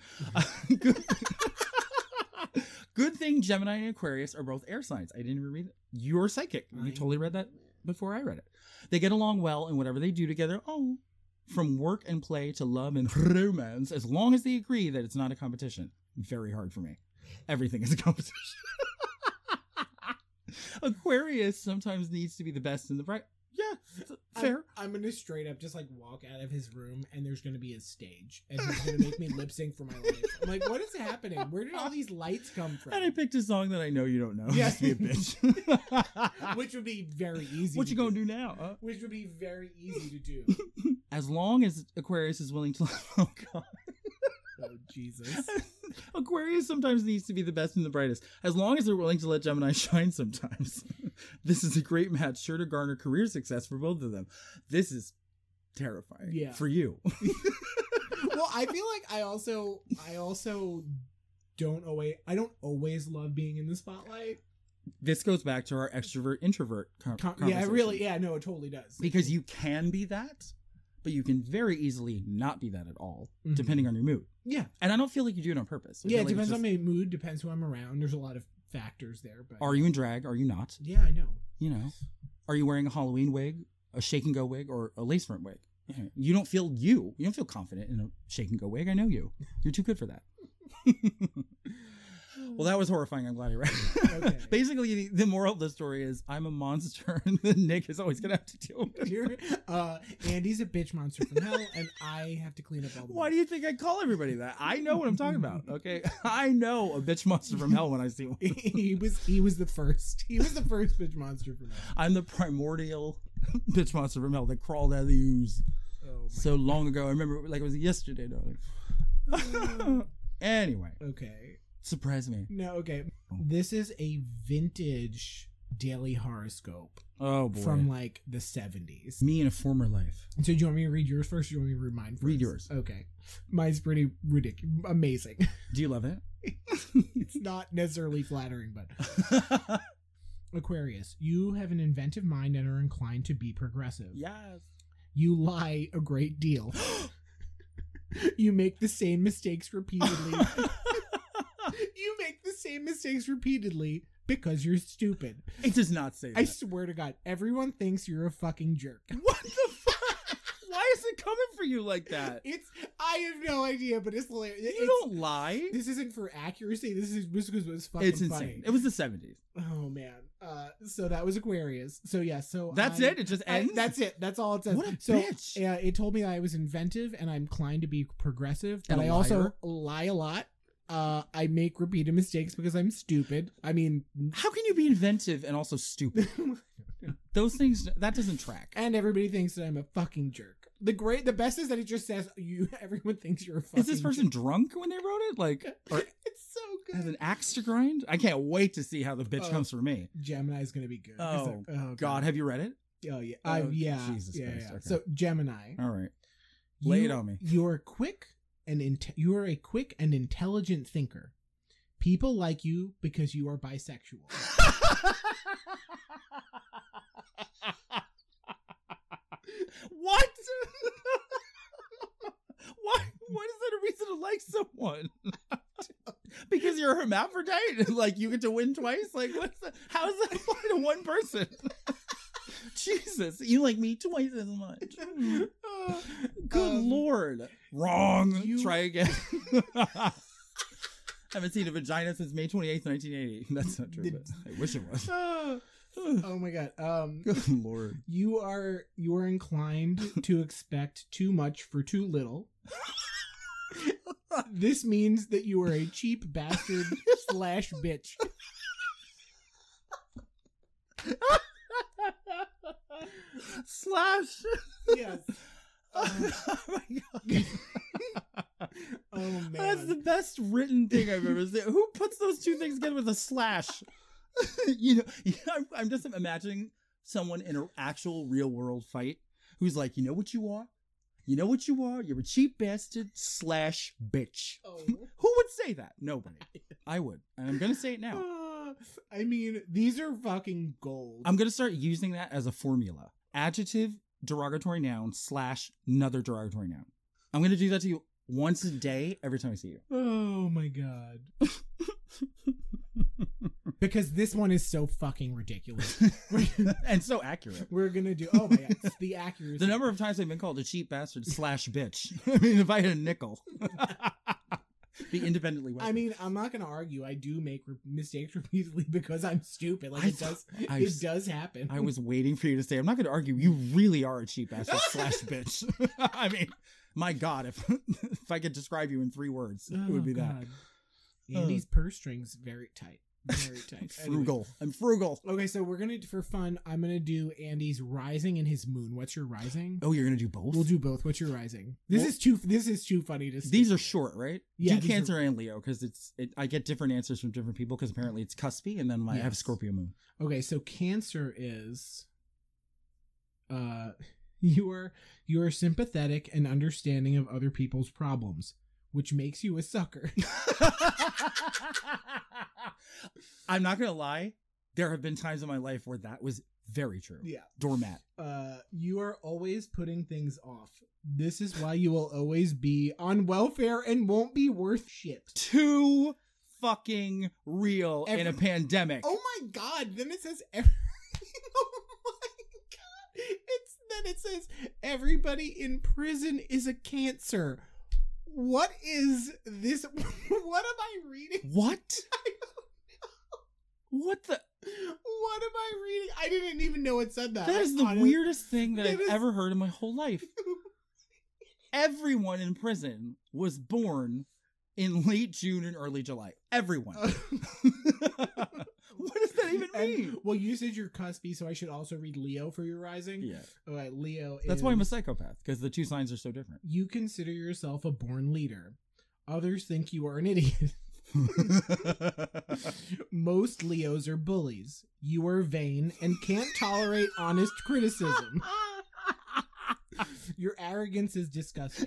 Good thing Gemini and Aquarius are both air signs. I didn't even read it. You're psychic. You totally read that before I read it. They get along well in whatever they do together. Oh, from work and play to love and romance, as long as they agree that it's not a competition. Very hard for me. Everything is a competition. Aquarius sometimes needs to be the best in the Yeah, fair. I'm gonna straight up just like walk out of his room, and there's gonna be a stage, and he's gonna make me lip sync for my life. I'm like, what is happening? Where did all these lights come from? And I picked a song that I know you don't know. Yeah. Just be a bitch. Which would be very easy. What you gonna do now? Huh? Which would be very easy to do. As long as Aquarius is willing to. Oh God. Oh Jesus. Aquarius sometimes needs to be the best and the brightest. As long as they're willing to let Gemini shine sometimes. This is a great match, sure to garner career success for both of them. This is terrifying for you. Well, I feel like I also don't always love being in the spotlight. This goes back to our extrovert introvert conversation. No, it totally does. Because you can be that, but you can very easily not be that at all, depending on your mood. Yeah. And I don't feel like you do it on purpose. It depends on my mood, depends who I'm around. There's a lot of factors there. But are you in drag? Are you not? Yeah, I know. You know, are you wearing a Halloween wig, a shake and go wig, or a lace front wig? You don't feel confident in a shake and go wig. I know you. You're too good for that. Well, that was horrifying. I'm glad you read. Okay. Basically, the moral of the story is I'm a monster, and then Nick is always gonna have to deal with it. Andy's a bitch monster from hell, and I have to clean up all the. Why do you think I call everybody that? I know what I'm talking about. Okay, I know a bitch monster from hell when I see one. He was the first. He was the first bitch monster from hell. I'm the primordial bitch monster from hell that crawled out of the ooze so long ago. I remember like it was yesterday, darling. Anyway. Okay. Surprise me. No, okay. This is a vintage daily horoscope. Oh, boy. From like the 70s. Me in a former life. So do you want me to read yours first, or do you want me to read mine first? Read yours. Okay. Mine's pretty ridiculous. Amazing. Do you love it? It's not necessarily flattering, but... Aquarius, you have an inventive mind and are inclined to be progressive. Yes. You lie a great deal. You make the same mistakes repeatedly. You make the same mistakes repeatedly because you're stupid. It does not say that. I swear to God, everyone thinks you're a fucking jerk. What the fuck? Why is it coming for you like that? I have no idea, but it's hilarious. You don't lie. This isn't for accuracy. This is because it was fucking insane. Funny. It was the 70s. Oh man. So that was Aquarius. So yeah. So that's it. It just ends. That's it. That's all it says. What a bitch. It told me I was inventive and I'm inclined to be progressive, but I also lie a lot. I make repeated mistakes because I'm stupid. I mean, how can you be inventive and also stupid? Those things, that doesn't track. And everybody thinks that I'm a fucking jerk. The best is that it just says everyone thinks you're a fucking jerk. Is this person drunk when they wrote it? Like, it's so good. Has an axe to grind? I can't wait to see how the bitch comes for me. Gemini's gonna be good. Oh, God. Have you read it? Oh yeah. Yeah. Jesus Christ. Okay. So Gemini. All right. Lay it on me. You're quick and you are a quick and intelligent thinker. People like you because you are bisexual. What? Why is that a reason to like someone? Because you're a hermaphrodite? Like you get to win twice? Like what's that? How does that apply to one person? Jesus, you like me twice as much. Good Lord. Wrong. Try again. Haven't seen a vagina since May 28th, 1980. That's not true, but I wish it was. Oh my God. Good Lord. You are inclined to expect too much for too little. This means that you are a cheap bastard / bitch. / Yes. Oh my God. Oh man. That's the best written thing I've ever seen. Who puts those two things together with a / You know, I'm just imagining someone in an actual real world fight who's like, you know what you are? You know what you are? You're a cheap bastard / bitch. Oh. Who would say that? Nobody. I would. And I'm going to say it now. I mean, these are fucking gold. I'm going to start using that as a formula. Adjective, derogatory noun / another derogatory noun. I'm going to do that to you once a day every time I see you. Oh my God. Because this one is so fucking ridiculous. And so accurate. We're going to do, oh my God, the accuracy. The number of times I've been called a cheap bastard / bitch. I mean, if I had a nickel. Be independently wealthy. I mean, I'm not gonna argue. I do make mistakes repeatedly because I'm stupid. Like I it does happen. I was waiting for you to say, I'm not going to argue. You really are a cheap ass / bitch. I mean, my God, if I could describe you in 3 words, it would be that. Andy's purse strings very tight. Very tight. Frugal. Anyway. I'm frugal. Okay, so we're gonna, for fun, I'm gonna do Andy's rising and his moon. What's your rising? Oh, you're going to do both? We'll do both. What's your rising? This is too funny to. These are short, right? Yeah, do Cancer and Leo because I get different answers from different people because apparently it's cuspy, and then I have Scorpio moon. Okay, so Cancer is, you are sympathetic and understanding of other people's problems, which makes you a sucker. I'm not gonna lie. There have been times in my life where that was very true. Yeah. Doormat. You are always putting things off. This is why you will always be on welfare and won't be worth shit. Too fucking real in a pandemic. Oh my God. Then it says oh my God. It says everybody in prison is a Cancer. What is this? What am I reading? What? I don't know. What the? What am I reading? I didn't even know it said that. That is the weirdest thing that I've ever heard in my whole life. Everyone in prison was born in late June and early July. Everyone. What does that even mean? Well, you said you're cuspy, so I should also read Leo for your rising. Yeah. All right, Leo. That's why I'm a psychopath, because the 2 signs are so different. You consider yourself a born leader. Others think you are an idiot. Most Leos are bullies. You are vain and can't tolerate honest criticism. Your arrogance is disgusting.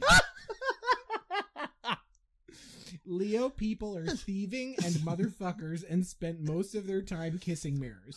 Leo people are thieving and motherfuckers and spent most of their time kissing mirrors.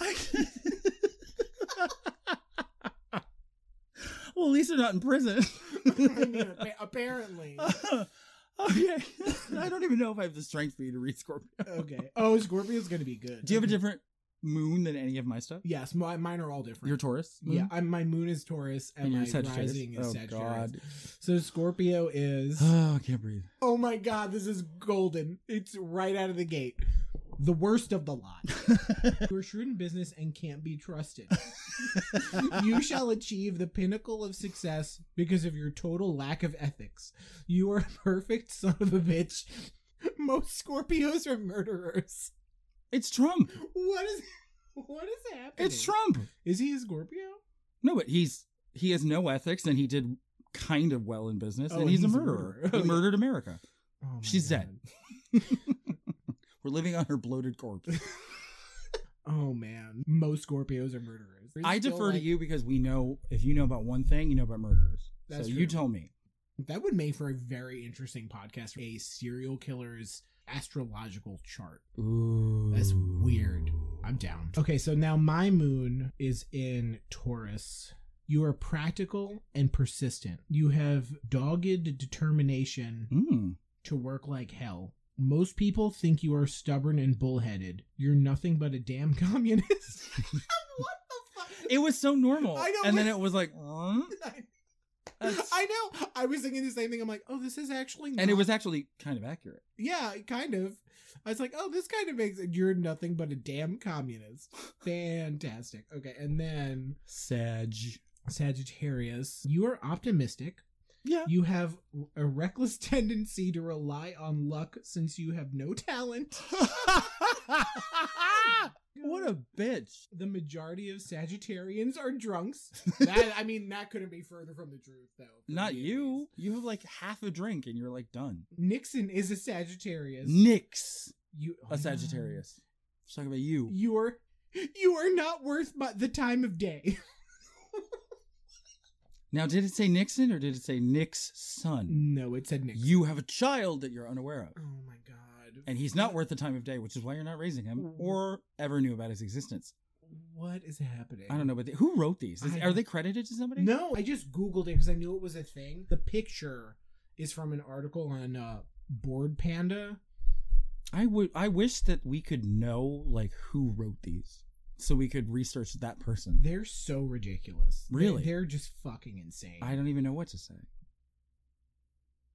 Well, at least they're not in prison. I mean, apparently. Okay. I don't even know if I have the strength for you to read Scorpio. Okay. Oh, Scorpio's going to be good. Do you have a different moon than any of my stuff? Yes, mine are all different. You're Taurus? Moon? Yeah, my moon is Taurus and my rising is Sagittarius. God. So Scorpio is... Oh, I can't breathe. Oh my God, this is golden. It's right out of the gate. The worst of the lot. You are shrewd in business and can't be trusted. You shall achieve the pinnacle of success because of your total lack of ethics. You are a perfect son of a bitch. Most Scorpios are murderers. It's Trump. What is happening? It's Trump. Is he a Scorpio? No, but he has no ethics, and he did kind of well in business, and he's a murderer. He murdered America. Oh She's dead. We're living on her bloated corpse. Oh man, most Scorpios are murderers. I defer to you because we know, if you know about one thing, you know about murderers. That's so true. you tell me. That would make for a very interesting podcast. A serial killer's astrological chart. Ooh. That's weird. I'm down. Okay, so now my moon is in Taurus. You are practical and persistent. You have dogged determination to work like hell. Most people think you are stubborn and bullheaded. You're nothing but a damn communist. What the fuck? It was so normal. I know, and then it was like, I know. I was thinking the same thing. I'm like, oh, this is actually not... And it was actually kind of accurate. Yeah, kind of. I was like, oh, this kind of makes it. You're nothing but a damn communist. Fantastic. Okay, and then... Sagittarius. You are optimistic. Yeah. You have a reckless tendency to rely on luck since you have no talent. What a bitch. The majority of Sagittarians are drunks. That couldn't be further from the truth, though. Not you. You have like half a drink and you're like done. Nixon is a Sagittarius. A Sagittarius. Let's talk about you. You are not worth the time of day. Now, did it say Nixon or did it say Nick's son? No, it said Nixon. You have a child that you're unaware of. Oh my God. And he's not worth the time of day, which is why you're not raising him or ever knew about his existence. What is happening? I don't know, but who wrote these? Are they credited to somebody? No, I just Googled it because I knew it was a thing. The picture is from an article on Board Panda. I wish that we could know like who wrote these, so we could research that person. They're so ridiculous. Really? They're just fucking insane. I don't even know what to say.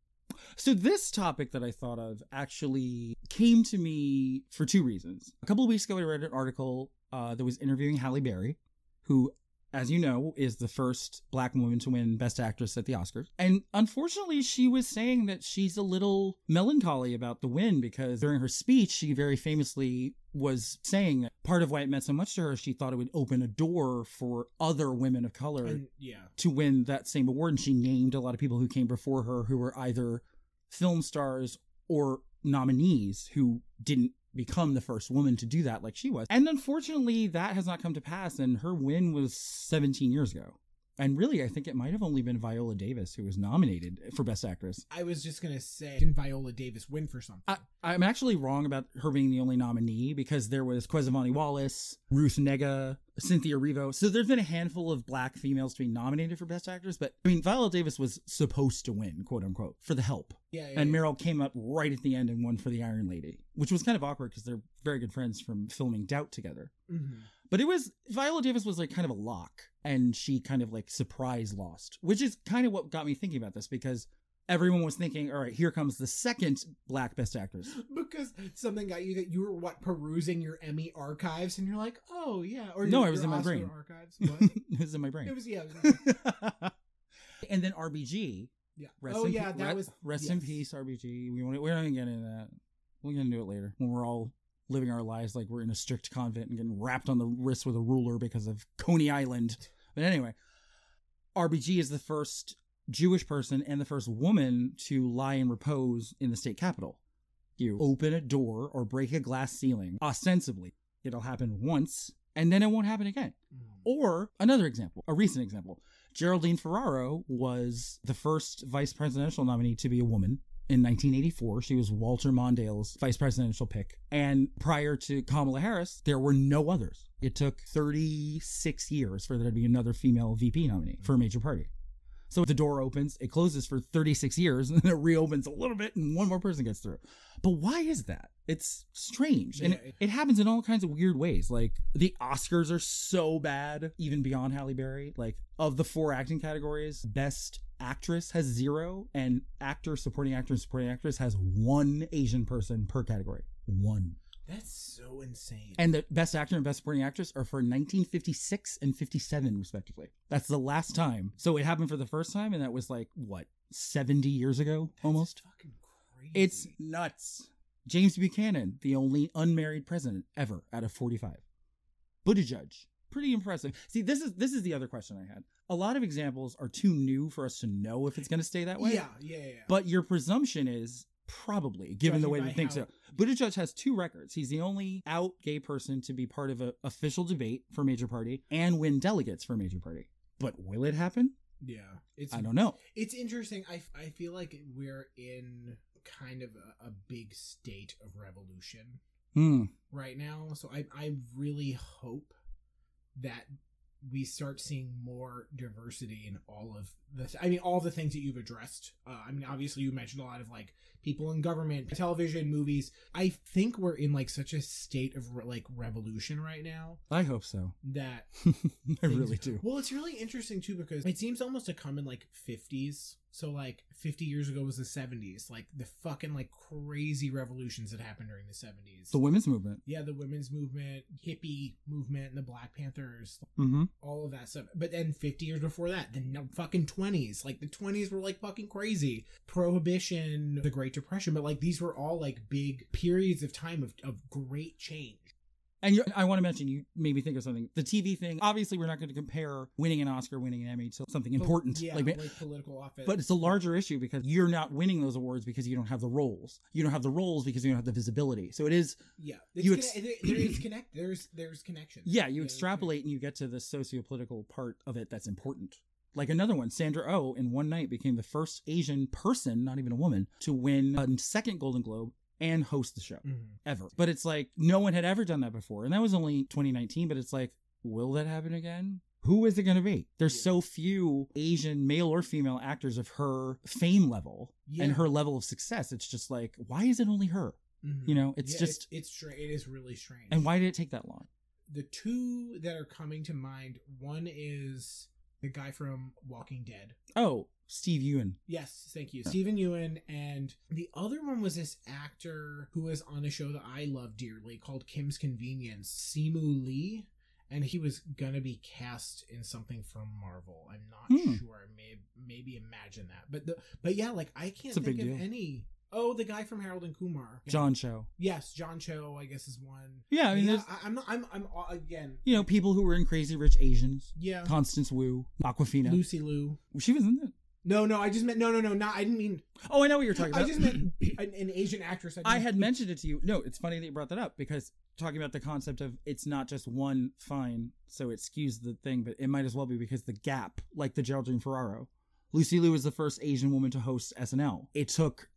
So this topic that I thought of actually came to me for two reasons. A couple of weeks ago, I read an article that was interviewing Halle Berry, who, as you know, is the first Black woman to win Best Actress at the Oscars. And unfortunately, she was saying that she's a little melancholy about the win because during her speech, she very famously was saying that part of why it meant so much to her, she thought it would open a door for other women of color to win that same award. And she named a lot of people who came before her who were either film stars or nominees who didn't become the first woman to do that like she was. And unfortunately, that has not come to pass, and her win was 17 years ago. And really, I think it might have only been Viola Davis who was nominated for Best Actress. I was just going to say, didn't Viola Davis win for something? I'm actually wrong about her being the only nominee because there was Kwezivani Wallace, Ruth Negga, Cynthia Erivo. So there's been a handful of Black females to be nominated for Best Actress. But I mean, Viola Davis was supposed to win, quote unquote, for The Help. And Meryl came up right at the end and won for The Iron Lady, which was kind of awkward because they're very good friends from filming Doubt together. Mm-hmm. But Viola Davis was like kind of a lock, and she kind of like surprise lost, which is kind of what got me thinking about this because everyone was thinking, all right, here comes the second Black Best Actress. Because something got you that you were perusing your Emmy archives and you're like, oh yeah. Or no, it was in my brain. Archives. What? It was in my brain. It was, And then RBG. Yeah. Rest in peace, RBG. We're not going to get into that. We're going to do it later when we're all living our lives like we're in a strict convent and getting wrapped on the wrist with a ruler because of Coney Island. But anyway, RBG is the first Jewish person and the first woman to lie in repose in the state capitol. You open a door or break a glass ceiling, ostensibly. It'll happen once, and then it won't happen again. Or another example, a recent example. Geraldine Ferraro was the first vice presidential nominee to be a woman. In 1984, she was Walter Mondale's vice presidential pick. And prior to Kamala Harris, there were no others. It took 36 years for there to be another female VP nominee for a major party. So the door opens, it closes for 36 years, and then it reopens a little bit, and one more person gets through. But why is that? It's strange. And it happens in all kinds of weird ways. Like, the Oscars are so bad, even beyond Halle Berry. Like, of the 4 acting categories, Best Actress has 0, and Actor, Supporting Actor, and Supporting Actress has 1 Asian person per category. 1. That's so insane. And the Best Actor and Best Supporting Actress are for 1956 and 57, respectively. That's the last time. So it happened for the first time, and that was like, what, 70 years ago, almost? That's fucking crazy. It's nuts. James Buchanan, the only unmarried president ever out of 45. Buttigieg, pretty impressive. See, this is the other question I had. A lot of examples are too new for us to know if it's going to stay that way. Yeah. But your presumption is probably, given the way we think so. Buttigieg has 2 records. He's the only out gay person to be part of an official debate for a major party and win delegates for a major party. But will it happen? Yeah. I don't know. It's interesting. I feel like we're in kind of a big state of revolution right now. So I really hope that we start seeing more diversity in all of all the things that you've addressed. Obviously you mentioned a lot of like people in government, television, movies. I think we're in like such a state of like revolution right now. I hope so. That I really do. Well, it's really interesting too because it seems almost to come in like 50s. So like 50 years ago was the 70s, like the fucking like crazy revolutions that happened during the 70s. The women's movement. Yeah, the women's movement, hippie movement, and the Black Panthers, all of that stuff. But then 50 years before that, the fucking 20s, like the 20s were like fucking crazy. Prohibition, the Great Depression, but like these were all like big periods of time of great change. And I want to mention, you made me think of something. The TV thing, obviously we're not going to compare winning an Oscar, winning an Emmy to something important. Yeah, like political office. But it's a larger issue because you're not winning those awards because you don't have the roles. You don't have the roles because you don't have the visibility. So it is... Yeah. There's connection. Yeah, you extrapolate and you get to the socio-political part of it that's important. Like another one, Sandra Oh, in one night became the first Asian person, not even a woman, to win a second Golden Globe and host the show ever. But it's like no one had ever done that before. And that was only 2019, but it's like, will that happen again? Who is it going to be? There's so few Asian male or female actors of her fame level and her level of success. It's just like, why is it only her? You know, it's just... It is really strange. And why did it take that long? The 2 that are coming to mind, one is The guy from Walking Dead. Oh, Steve Ewan. Yes, thank you. Stephen Ewan. And the other one was this actor who was on a show that I love dearly called Kim's Convenience, Simu Lee. And he was gonna be cast in something from Marvel. I'm not sure. I maybe imagine that. But yeah, like I can't think of any. Oh, the guy from Harold and Kumar. Yeah. John Cho. Yes, John Cho, I guess, is one. Yeah, I mean, yeah, I'm again. You know, people who were in Crazy Rich Asians. Yeah. Constance Wu, Awkwafina. Lucy Liu. She was in it. No, I just meant, no, not, I didn't mean. Oh, I know what you're talking about. I just meant an Asian actress. I had mentioned it to you. No, it's funny that you brought that up because talking about the concept of it's not just one fine, so it skews the thing, but it might as well be because the gap, like the Geraldine Ferraro. Lucy Liu was the first Asian woman to host SNL. It took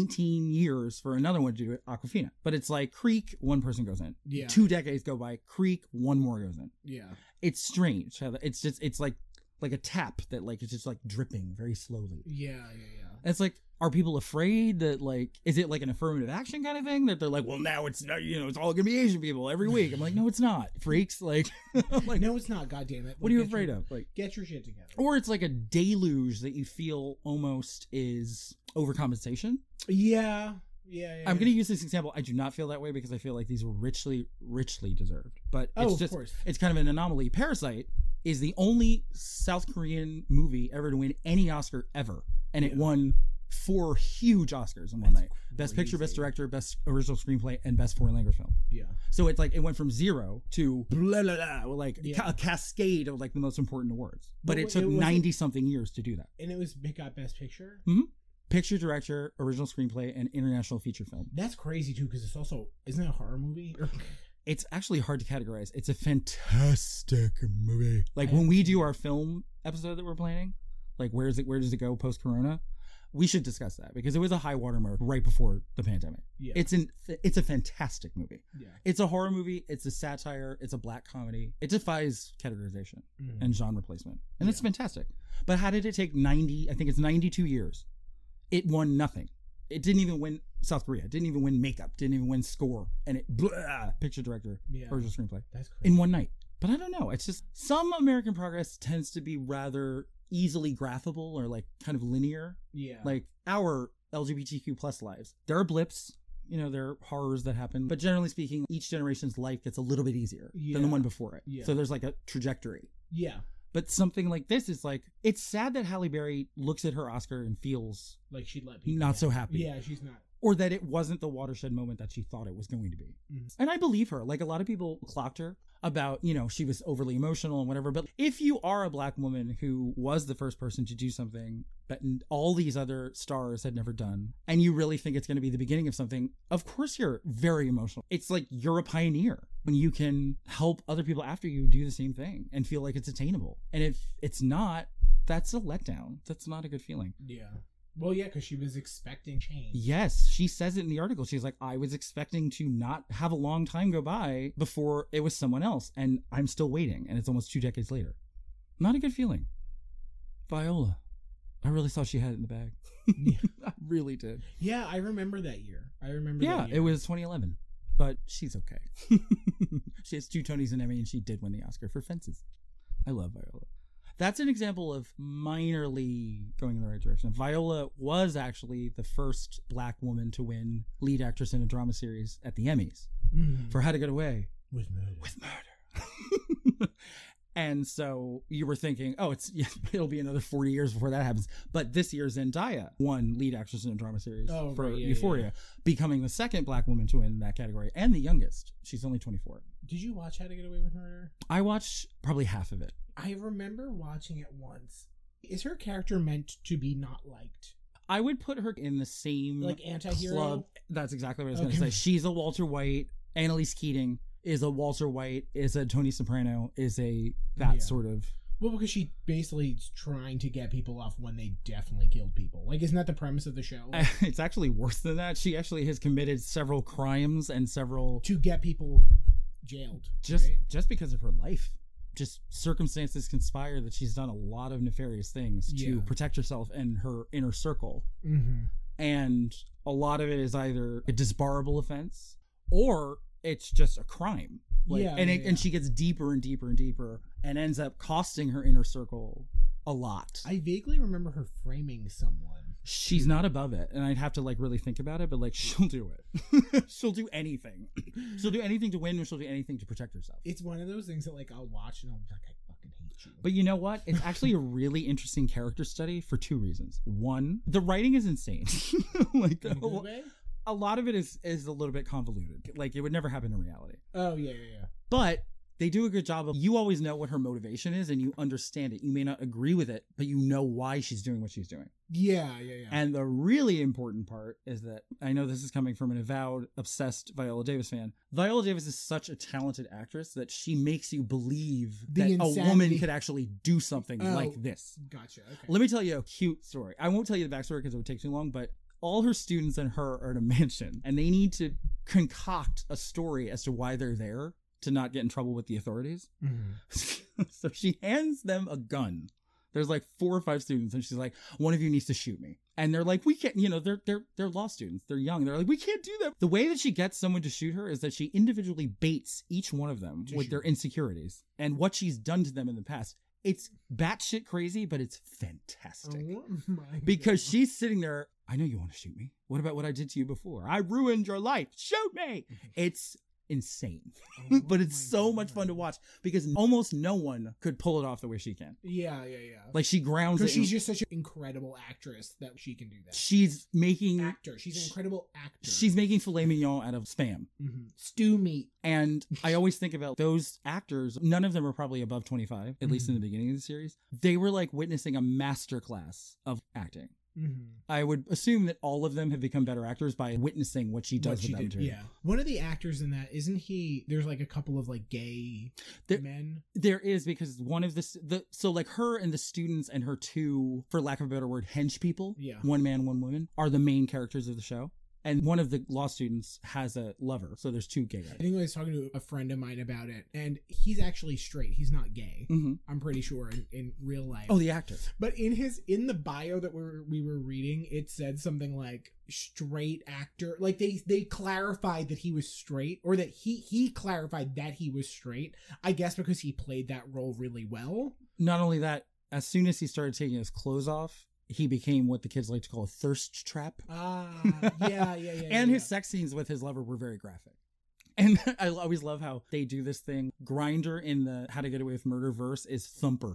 19 years for another one to do it, Awkwafina. But it's like Creek, one person goes in. Yeah. 2 decades go by, Creek, one more goes in. Yeah. It's strange how it's like a tap that like it's just like dripping very slowly. Yeah. It's like, are people afraid that like, is it like an affirmative action kind of thing that they're like, well, now it's not, it's all gonna be Asian people every week. I'm like, no, it's not, freaks. Like, like no, it's not. God damn it! What are you afraid of? Like, get your shit together. Or it's like a deluge that you feel almost is overcompensation. Yeah. I'm going to use this example. I do not feel that way because I feel like these were richly deserved. But it's just, it's kind of an anomaly. Parasite is the only South Korean movie ever to win any Oscar ever. And it won 4 huge Oscars in one night. Best Picture, Best Director, Best Original Screenplay, and Best Foreign Language Film. Yeah. So it's like, it went from 0 to blah, blah, blah, like a cascade of like the most important awards. But it took 90 something years to do that. And it got Best Picture? Mm-hmm. Picture, Director, Original Screenplay, and International Feature Film. That's crazy too, because it's also, isn't it a horror movie? It's actually hard to categorize. It's a fantastic movie. Like when we do our film episode that we're planning, like where does it go post Corona? We should discuss that because it was a high watermark right before the pandemic. Yeah. It's a fantastic movie. Yeah. It's a horror movie. It's a satire. It's a black comedy. It defies categorization and genre placement, and it's fantastic. But how did it take 92 years? It won nothing. It didn't even win South Korea. It didn't even win makeup. Didn't even win score. And it picture director, original screenplay. That's crazy. In one night. But I don't know. It's just some American progress tends to be rather easily graphable or like kind of linear. Yeah. Like our LGBTQ plus lives. There are blips. There are horrors that happen. But generally speaking, each generation's life gets a little bit easier than the one before it. Yeah. So there's like a trajectory. Yeah. But something like this is like, it's sad that Halle Berry looks at her Oscar and feels like she'd let people not so happy. Yeah, she's not. Or that it wasn't the watershed moment that she thought it was going to be. Mm-hmm. And I believe her. Like a lot of people clocked her about, she was overly emotional and whatever. But if you are a black woman who was the first person to do something that all these other stars had never done, and you really think it's going to be the beginning of something, of course you're very emotional. It's like you're a pioneer when you can help other people after you do the same thing and feel like it's attainable. And if it's not, that's a letdown. That's not a good feeling. Yeah. Well, yeah, because she was expecting change. Yes, she says it in the article. She's like, I was expecting to not have a long time go by before it was someone else, and I'm still waiting, and it's almost 2 decades later. Not a good feeling. Viola. I really thought she had it in the bag. I really did. Yeah, I remember that year. Yeah, it was 2011, but she's okay. She has 2 Tonys and Emmy, and she did win the Oscar for Fences. I love Viola. That's an example of minorly going in the right direction. Viola was actually the first black woman to win lead actress in a drama series at the Emmys for How to Get Away with Murder. And so you were thinking, it'll be another 40 years before that happens. But this year, Zendaya won lead actress in a drama series for Euphoria, becoming the second black woman to win that category and the youngest. She's only 24. Did you watch How to Get Away with Murder? I watched probably half of it. I remember watching it once. Is her character meant to be not liked? I would put her in the same like anti-hero club. That's exactly what I was going to say. She's a Walter White. Annalise Keating is a Walter White. Is a Tony Soprano. Is a sort of. Well, because she basically is trying to get people off when they definitely killed people. Like, isn't that the premise of the show? It's actually worse than that. She actually has committed several crimes and several to get people jailed. Just because of her life. Just circumstances conspire that she's done a lot of nefarious things to protect herself and her inner circle. Mm-hmm. And a lot of it is either a disbarable offense or it's just a crime. And she gets deeper and deeper and deeper and ends up costing her inner circle a lot. I vaguely remember her framing someone. She's not above it, and I'd have to like really think about it, but like she'll do it. She'll do anything. She'll do anything to win, or she'll do anything to protect herself. It's one of those things that like I'll watch and I'll be like, I fucking hate you. But you know what? It's actually a really interesting character study for 2 reasons. One, the writing is insane. Like In a good way? a lot of it is a little bit convoluted. Like it would never happen in reality. Oh yeah. But they do a good job of, you always know what her motivation is and you understand it. You may not agree with it, but you know why she's doing what she's doing. Yeah. And the really important part is that, I know this is coming from an avowed, obsessed Viola Davis fan. Viola Davis is such a talented actress that she makes you believe The that insanity. a woman could actually do something Oh. like this. Gotcha. Okay. Let me tell you a cute story. I won't tell you the backstory because it would take too long, but all her students and her are in a mansion and they need to concoct a story as to why they're there to not get in trouble with the authorities. Mhm. So she hands them a gun. There's like 4 or 5 students and she's like, one of you needs to shoot me. And they're like, we can't, you know, they're law students. They're young. They're like, we can't do that. The way that she gets someone to shoot her is that she individually baits each one of them To with shoot. their insecurities and what she's done to them in the past. It's batshit crazy, but it's fantastic. Oh my Because God. she's sitting there, I know you want to shoot me. What about what I did to you before? I ruined your life. Shoot me. It's insane. Oh But it's my so much fun to God. watch because almost no one could pull it off the way she can. Yeah. Like she grounds it. Because in- she's just such an incredible actress that she can do that. she's making Actor. She's an incredible actor. she's making filet mignon out of Spam. stew meat. And I always think about those actors. None of them are probably above 25, at least in the beginning of the series. They were like witnessing a masterclass of acting. I would assume that all of them have become better actors by witnessing what she does What she with them did, too. yeah. One of the actors in that, isn't he? There's like a couple of like gay There- men. There is, because one of so like her and the students and her 2, for lack of a better word, hench people, Yeah. one man, one woman, are the main characters of the show. And one of the law students has a lover. So there's 2 gay guys. I think I was talking to a friend of mine about it, and he's actually straight. He's not gay. Mm-hmm. I'm pretty sure in real life. Oh, the actor. But in the bio that we were reading, it said something like straight actor. Like they clarified that he was straight, or that he clarified that he was straight. I guess because he played that role really well. Not only that, as soon as he started taking his clothes off, he became what the kids like to call a thirst trap. Yeah. And his sex scenes with his lover were very graphic. And I always love how they do this thing. Grinder in the How to Get Away with Murder verse is Thumper.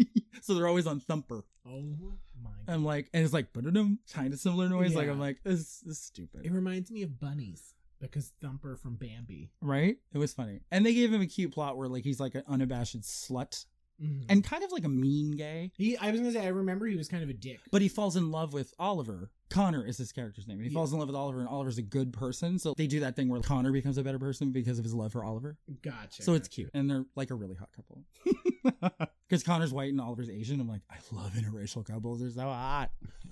So they're always on Thumper. Oh my God. I'm like, and it's like, ba-da-dum, kind of similar noise. Like, Yeah. I'm like, this is stupid. It reminds me of bunnies because Thumper from Bambi. Right? It was funny. And they gave him a cute plot where like he's like an unabashed slut Mhm. and kind of like a mean gay. I was gonna say, I remember he was kind of a dick. But he falls in love with Oliver. Connor is his character's name. And he Yeah. falls in love with Oliver, and Oliver's a good person. So they do that thing where Connor becomes a better person because of his love for Oliver. Gotcha. So it's cute. And they're like a really hot couple. Because Connor's white and Oliver's Asian. I'm like, I love interracial couples. They're so hot.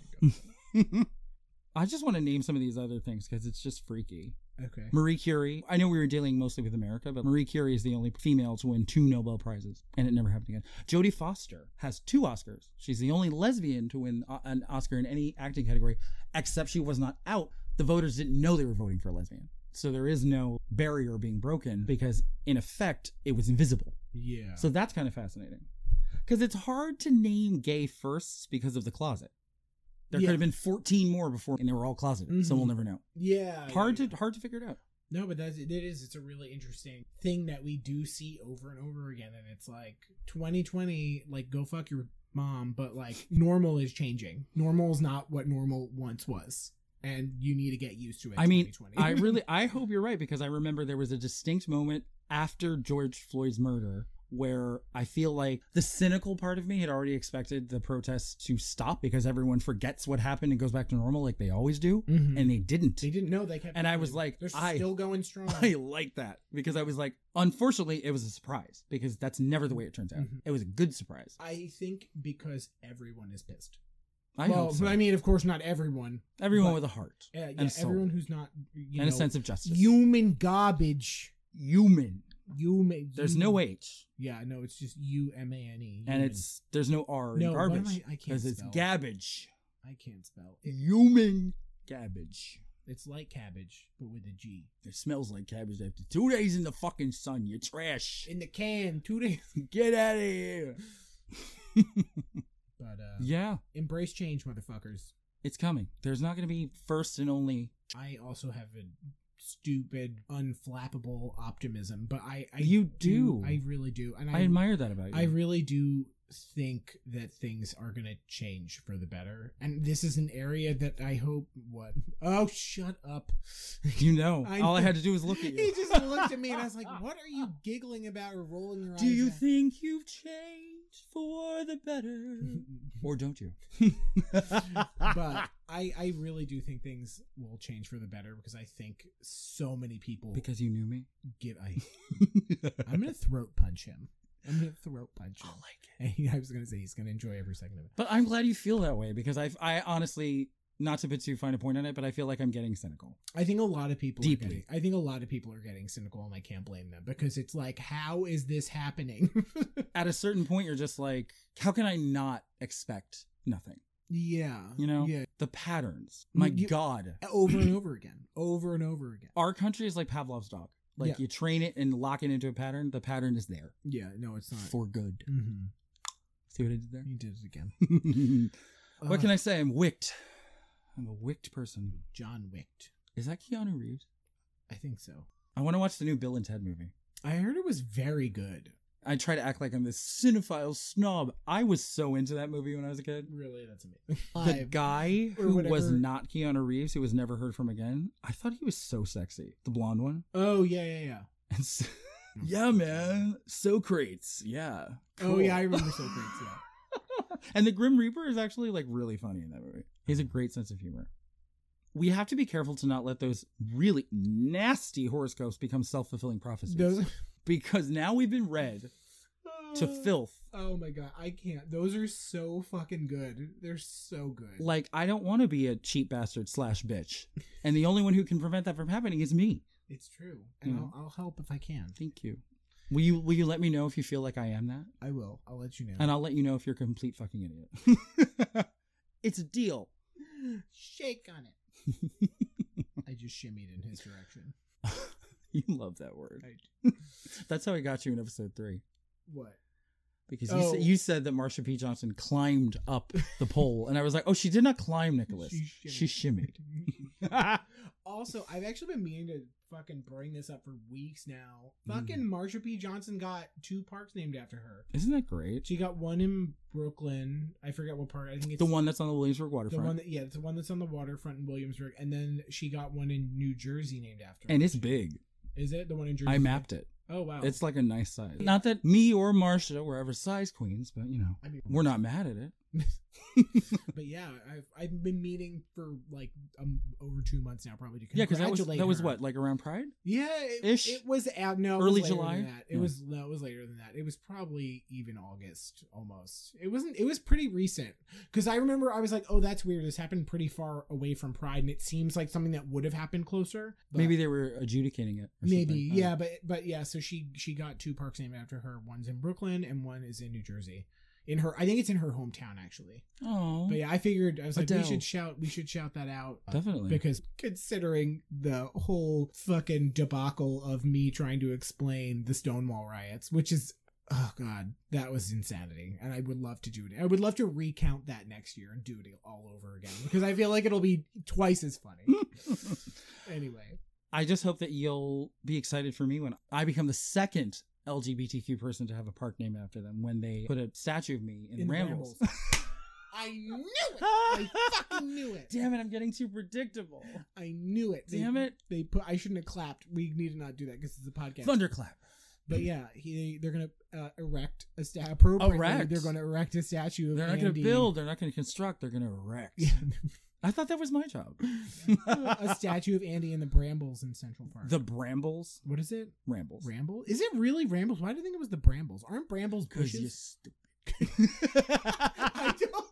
I just want to name some of these other things because it's just freaky. Okay. Marie Curie. I know we were dealing mostly with America, but Marie Curie is the only female to win 2 Nobel Prizes, and it never happened again. Jodie Foster has 2 Oscars. She's the only lesbian to win an Oscar in any acting category, except she was not out. The voters didn't know they were voting for a lesbian. So there is no barrier being broken because, in effect, it was invisible. Yeah. So that's kind of fascinating. Because it's hard to name gay firsts because of the closet. There Yeah. could have been 14 more before, and they were all closeted, so Mhm. we'll never know. yeah. Hard to figure it out. No, but it's a really interesting thing that we do see over and over again, and it's like 2020, like go fuck your mom, but like normal is changing. Normal is not what normal once was, and you need to get used to it. I mean, 2020. I hope you're right, because I remember there was a distinct moment after George Floyd's murder where I feel like the cynical part of me had already expected the protests to stop because everyone forgets what happened and goes back to normal like they always do, Mhm. and they didn't. They didn't know they kept. And I was going. like, they're I- still going strong. I like that because I was like, unfortunately, it was a surprise because that's never the way it turns out. Mhm. It was a good surprise. I think because everyone is pissed. I well, hope so. I mean, of course, not everyone. Everyone but- with a heart Yeah, and a soul everyone who's not and a sense of justice. human garbage. Human. Human. There's no H, Yeah, no, it's just UMANE. and there's no R in No, what am garbage I can't because it's spell. gabbage. I can't spell. Human cabbage. It's like cabbage, but with a G. It smells like cabbage after 2 days in the fucking sun. You're trash. In the can, 2 days. Get out of here. But Yeah, embrace change, motherfuckers. it's coming. There's not going to be first and only. I also have a stupid, unflappable optimism, but I You do. I really do, and I admire that about you. I really do think that things are going to change for the better, and this is an area that I hope. What? Oh, shut up! You know, I all I know. had to do was look at He you. just looked at me, and I was like, "What are you giggling about or rolling your eyes?" Do you at? think you've changed for the better, or don't you? But I really do think things will change for the better because I think so many people Because you knew me. I'm gonna throat punch him. I'm gonna throat punch him. I like it. And I was gonna say he's gonna enjoy every second of it. But I'm glad you feel that way because I honestly, not to put too fine a point on it, but I feel like I'm getting cynical. I think a lot of people Deeply. I think a lot of people are getting cynical, and I can't blame them because it's like, how is this happening? At a certain point, you're just like, how can I not expect nothing? Yeah, You know, yeah, the patterns. My You- God, over and over again, over and over again. our country is like Pavlov's dog. Like Yeah. you train it and lock it into a pattern. The pattern is there Yeah, no, it's not. for good. Mm-hmm. See what I did there? He did it again. What can I say? I'm wicked. I'm a wicked person. John Wicked. Is that Keanu Reeves? I think so. I want to watch the new Bill and Ted movie. I heard it was very good. I try to act like I'm this cinephile snob. I was so into that movie when I was a kid. Really, that's amazing. The guy or who was whatever. not Keanu Reeves, who was never heard from again, I thought he was so sexy. The blonde one. Oh yeah. And so, yeah, man. Socrates. Yeah. Oh Cool. yeah, I remember Socrates. Yeah. And the Grim Reaper is actually like really funny in that movie. He has a great sense of humor. We have to be careful to not let those really nasty horoscopes become self-fulfilling prophecies. Those. Because now we've been read to filth. Oh my god, I can't. Those are so fucking good. They're so good. Like, I don't want to be a cheap bastard / bitch. And the only one who can prevent that from happening is me. It's true, and You know? I'll help if I can. Thank you. Will you let me know if you feel like I am that? I will. I'll let you know. And I'll let you know if you're a complete fucking idiot. It's a deal. Shake on it. I just shimmied in his direction. You love that word. I, That's how I got you in episode 3. what? Because Oh. you said that Marsha P. Johnson climbed up the pole. And I was like, oh, she did not climb, Nicholas. She shimmied. Also, I've actually been meaning to fucking bring this up for weeks now. Mm. Fucking Marsha P. Johnson got 2 parks named after her. Isn't that great? She got one in Brooklyn. I forget what park. I think it's The one that's on the Williamsburg the waterfront. one that, yeah, it's the one that's on the waterfront in Williamsburg, and then she got one in New Jersey named after her. And it's big. Is it the one in Jersey? I mapped it. Oh wow, It's like a nice size. Not that me or Marsha were ever size queens, but you know, I mean, we're not mad at it. But yeah, I've been meeting for like over 2 months now, probably to Yeah, because congratulate that was her. what, like around Pride? Yeah, Ish? it was out. No, it Early was later July? Than that. It Yeah. was no, it was later than that. It was probably even August almost. It wasn't. It was pretty recent because I remember I was like, oh, that's weird. This happened pretty far away from Pride, and it seems like something that would have happened closer. But Maybe they were adjudicating it. or maybe, something. yeah, but yeah. So she got 2 parks named after her. One's in Brooklyn and one is in New Jersey. In her, I think it's in her hometown actually. Oh, But yeah, I figured I was like, Adele. we should shout that out. definitely. Because considering the whole fucking debacle of me trying to explain the Stonewall riots, which is, oh god, that was insanity. And I would love to do it. I would love to recount that next year and do it all over again because I feel like it'll be twice as funny. Anyway. I just hope that you'll be excited for me when I become the second LGBTQ person to have a park named after them when they put a statue of me in Rambles. I knew it. I fucking knew it. Damn it, I'm getting too predictable. I knew it. Damn it. They put. I shouldn't have clapped. We need to not do that because it's a podcast. Thunderclap. But yeah, they're gonna erect a statue. Erect. They're gonna erect a statue of They're not going Andy. to build. They're not going to construct. They're going to erect. Yeah. I thought that was my job. A statue of Andy and the Brambles in Central Park. The Brambles. What is it? Rambles. Ramble? Is it really Rambles? Why do you think it was the Brambles? Aren't Brambles Because you're bushes? stupid. I don't.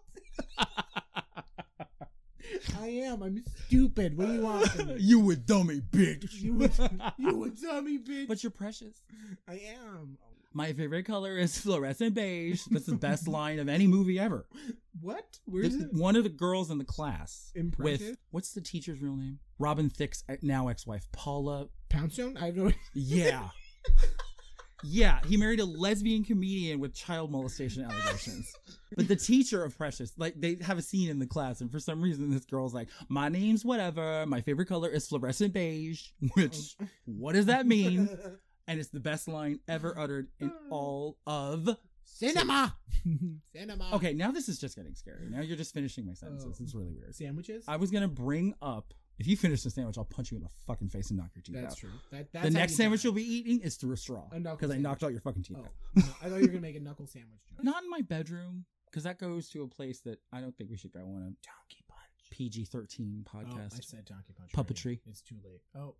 I am. I'm stupid. What do you want from me? You a dummy bitch. You a dummy bitch. But you're precious. I am. My favorite color is fluorescent beige. That's the best line of any movie ever. What? Where is it? One of the girls in the class Impressive? with, what's the teacher's real name? Robin Thicke's now ex-wife, Paula. Poundstone? I have no. Yeah. Yeah, he married a lesbian comedian with child molestation allegations. But the teacher of Precious, like, they have a scene in the class, and for some reason this girl's like, my name's whatever, my favorite color is fluorescent beige, which, what does that mean? And it's the best line ever uttered in all of Cinema. Cinema. Okay, now this is just getting scary. Now you're just finishing my sentences. It's really weird. Sandwiches? I was going to bring up, if you finish the sandwich, I'll punch you in the fucking face and knock your teeth out. That's true. That's The how next you sandwich die. you'll be eating is through a straw. A knuckle Because I sandwich. knocked out your fucking teeth Oh, out. no, I thought you were going to make a knuckle sandwich joke. Not in my bedroom, because that goes to a place that I don't think we should go on a Donkey Punch. PG-13 Oh, I podcast. said Donkey Punch. Puppetry. already. It's too late. Oh.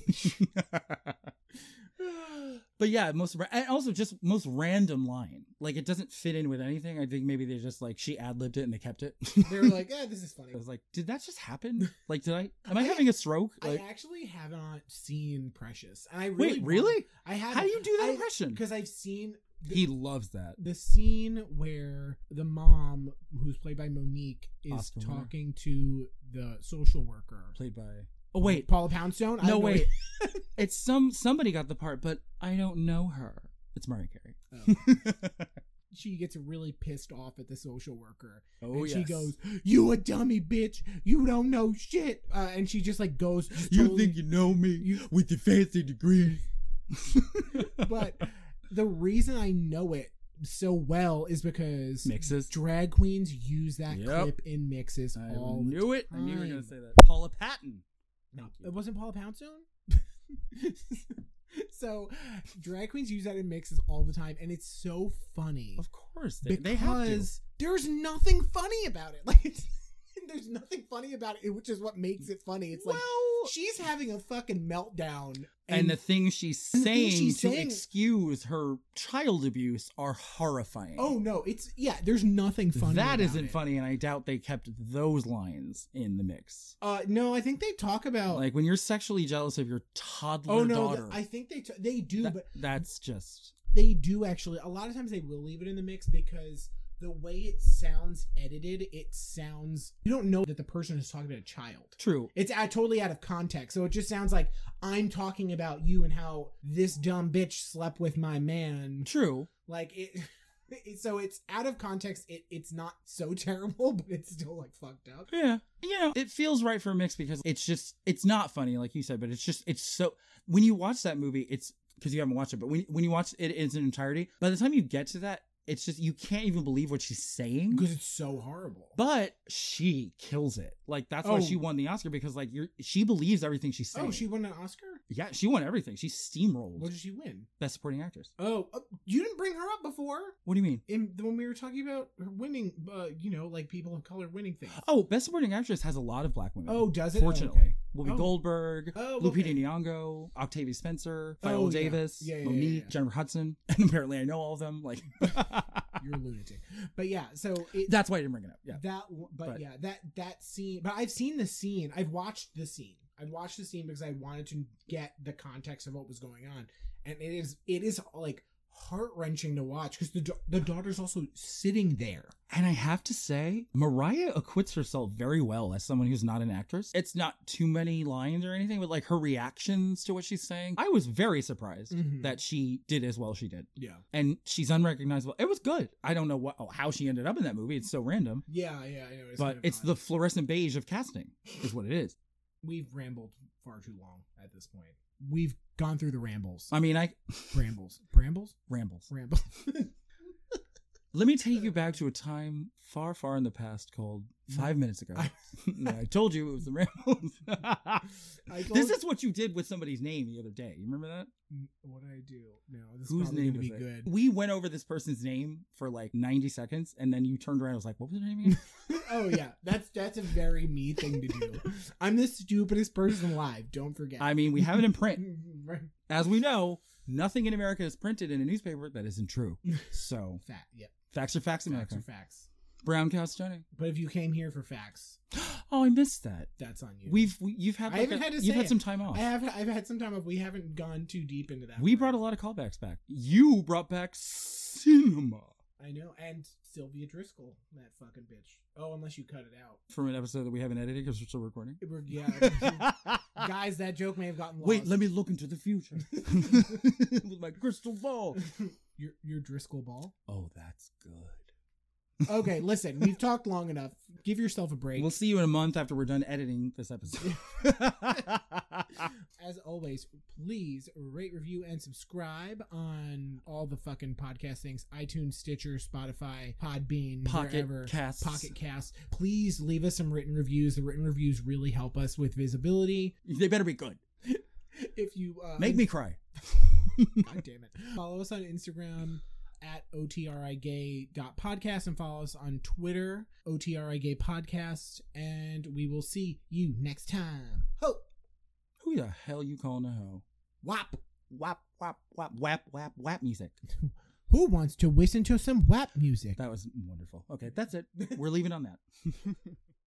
But yeah, and also just most random line. Like, it doesn't fit in with anything. I think maybe they just, like, she ad-libbed it and they kept it. They were like, this is funny. I was like, did that just happen? Like, am I having a stroke? Like, I actually have not seen Precious. And I really wait, really? I have. How do you do that impression? Because I've seen He loves that. the scene where the mom, who's played by Monique, is Oscar winner. talking to the social worker. Played by... Oh, wait. Paula Poundstone? I No, have wait. It's somebody got the part, but I don't know her. It's Mariah Carey. Oh. She gets really pissed off at the social worker. Oh, and yes. she goes, "You a dummy bitch. You don't know shit." And she just like goes, You totally- think you know me with your fancy degree. But the reason I know it so well is because Mixes. drag queens use that Yep. clip in mixes I all knew the it. I knew you were going time. to say that. Paula Patton. Thank you. It wasn't Paula Poundstone? So drag queens use that in mixes all the time, and it's so funny. Of course. They have to. Because there's nothing funny about it. Like, there's nothing funny about it, which is what makes it funny. It's like Well, she's having a fucking meltdown, and the things she's and the things saying she's to saying- excuse her child abuse are horrifying. oh no, there's nothing funny. that about isn't it. funny, and I doubt they kept those lines in the mix. No, I think they talk about. Like when you're sexually jealous of your toddler oh no, daughter. I think they do, but That's just they do actually. A lot of times they will leave it in the mix because the way it sounds edited, it sounds, you don't know that the person is talking about a child. true. It's totally out of context. So it just sounds like I'm talking about you and how this dumb bitch slept with my man. True. Like so it's out of context. It's not so terrible, but it's still like fucked up. Yeah. You know, it feels right for a mix because it's not funny, like you said, but it's so, when you watch that movie, it's, because you haven't watched it, but when you watch it in its entirety, by the time you get to that, it's just, you can't even believe what she's saying. Because it's so horrible. But she kills it. Like, that's why Oh. she won the Oscar, because like she believes everything she's saying. Oh, she won an Oscar? Yeah, she won everything. She steamrolled. What did she win? Best supporting actress. Oh, you didn't bring her up before What do you mean? when we were talking about her winning, like people of color winning things. Oh, best supporting actress has a lot of black women. Oh, does it? Fortunately. Oh, okay. Whoopi Oh. Goldberg, Oh, Lupita okay. Nyong'o, Octavia Spencer, Oh, Viola yeah. Davis, Yeah, Monique, yeah. Jennifer Hudson, and apparently I know all of them. Like, You're a lunatic. But yeah, so it, that's why I didn't bring it up. Yeah. but yeah, that scene. But I've seen the scene. I've watched the scene. I've watched the scene because I wanted to get the context of what was going on, and it is like heart-wrenching to watch because the daughter's also sitting there. And I have to say, Mariah acquits herself very well as someone who's not an actress. It's not too many lines or anything, but like her reactions to what she's saying, I was very surprised Mhm. that she did as well as she did. Yeah. And she's unrecognizable. It was good. I don't know how she ended up in that movie. It's so random. Yeah, I know. But kind of it's odd. the fluorescent beige of casting, is what it is. We've rambled far too long at this point. We've gone through the rambles. I mean, Brambles. rambles. Ramble. Let me take you back to a time far, far in the past called 5 minutes ago. I told you it was the rambles. This is what you did with somebody's name the other day. You remember that? What did I do? No, this Whose is probably name going to was be it? good. We went over this person's name for like 90 seconds, and then you turned around and was like, what was their name again? Oh yeah, that's a very me thing to do. I'm the stupidest person alive. Don't forget. I mean, we have it in print. Right. As we know, nothing in America is printed in a newspaper that isn't true. So, Yep. facts are facts, Facts America. are facts. Brown cow stunning. But if you came here for facts, Oh, I missed that. that's on you. You've had I like haven't had to you've say had it. some time off. I've had some time off. We haven't gone too deep into that. We part. brought a lot of callbacks back. You brought back cinema I know, and Sylvia Driscoll, that fucking bitch. Oh, unless you cut it out. from an episode that we haven't edited because we're still recording. Yeah. Guys, that joke may have gotten lost. Wait, let me look into the future with my crystal ball. Your Driscoll ball. Oh, that's good. Okay, listen, we've talked long enough. Give yourself a break. We'll see you in a month after we're done editing this episode. As always, please rate, review, and subscribe on all the fucking podcast things: iTunes, Stitcher, Spotify, Podbean, wherever. Pocket Casts. Please leave us some written reviews. The written reviews really help us with visibility. They better be good. If you make me cry. God damn it. Follow us on Instagram at otrigay.podcast and follow us on Twitter, otrigaypodcast, and we will see you next time. Ho! Who the hell you calling a hoe? Wap! Wap, wap, wap, wap, wap, wap music. Who wants to listen to some WAP music? That was wonderful. Okay, that's it. We're leaving on that.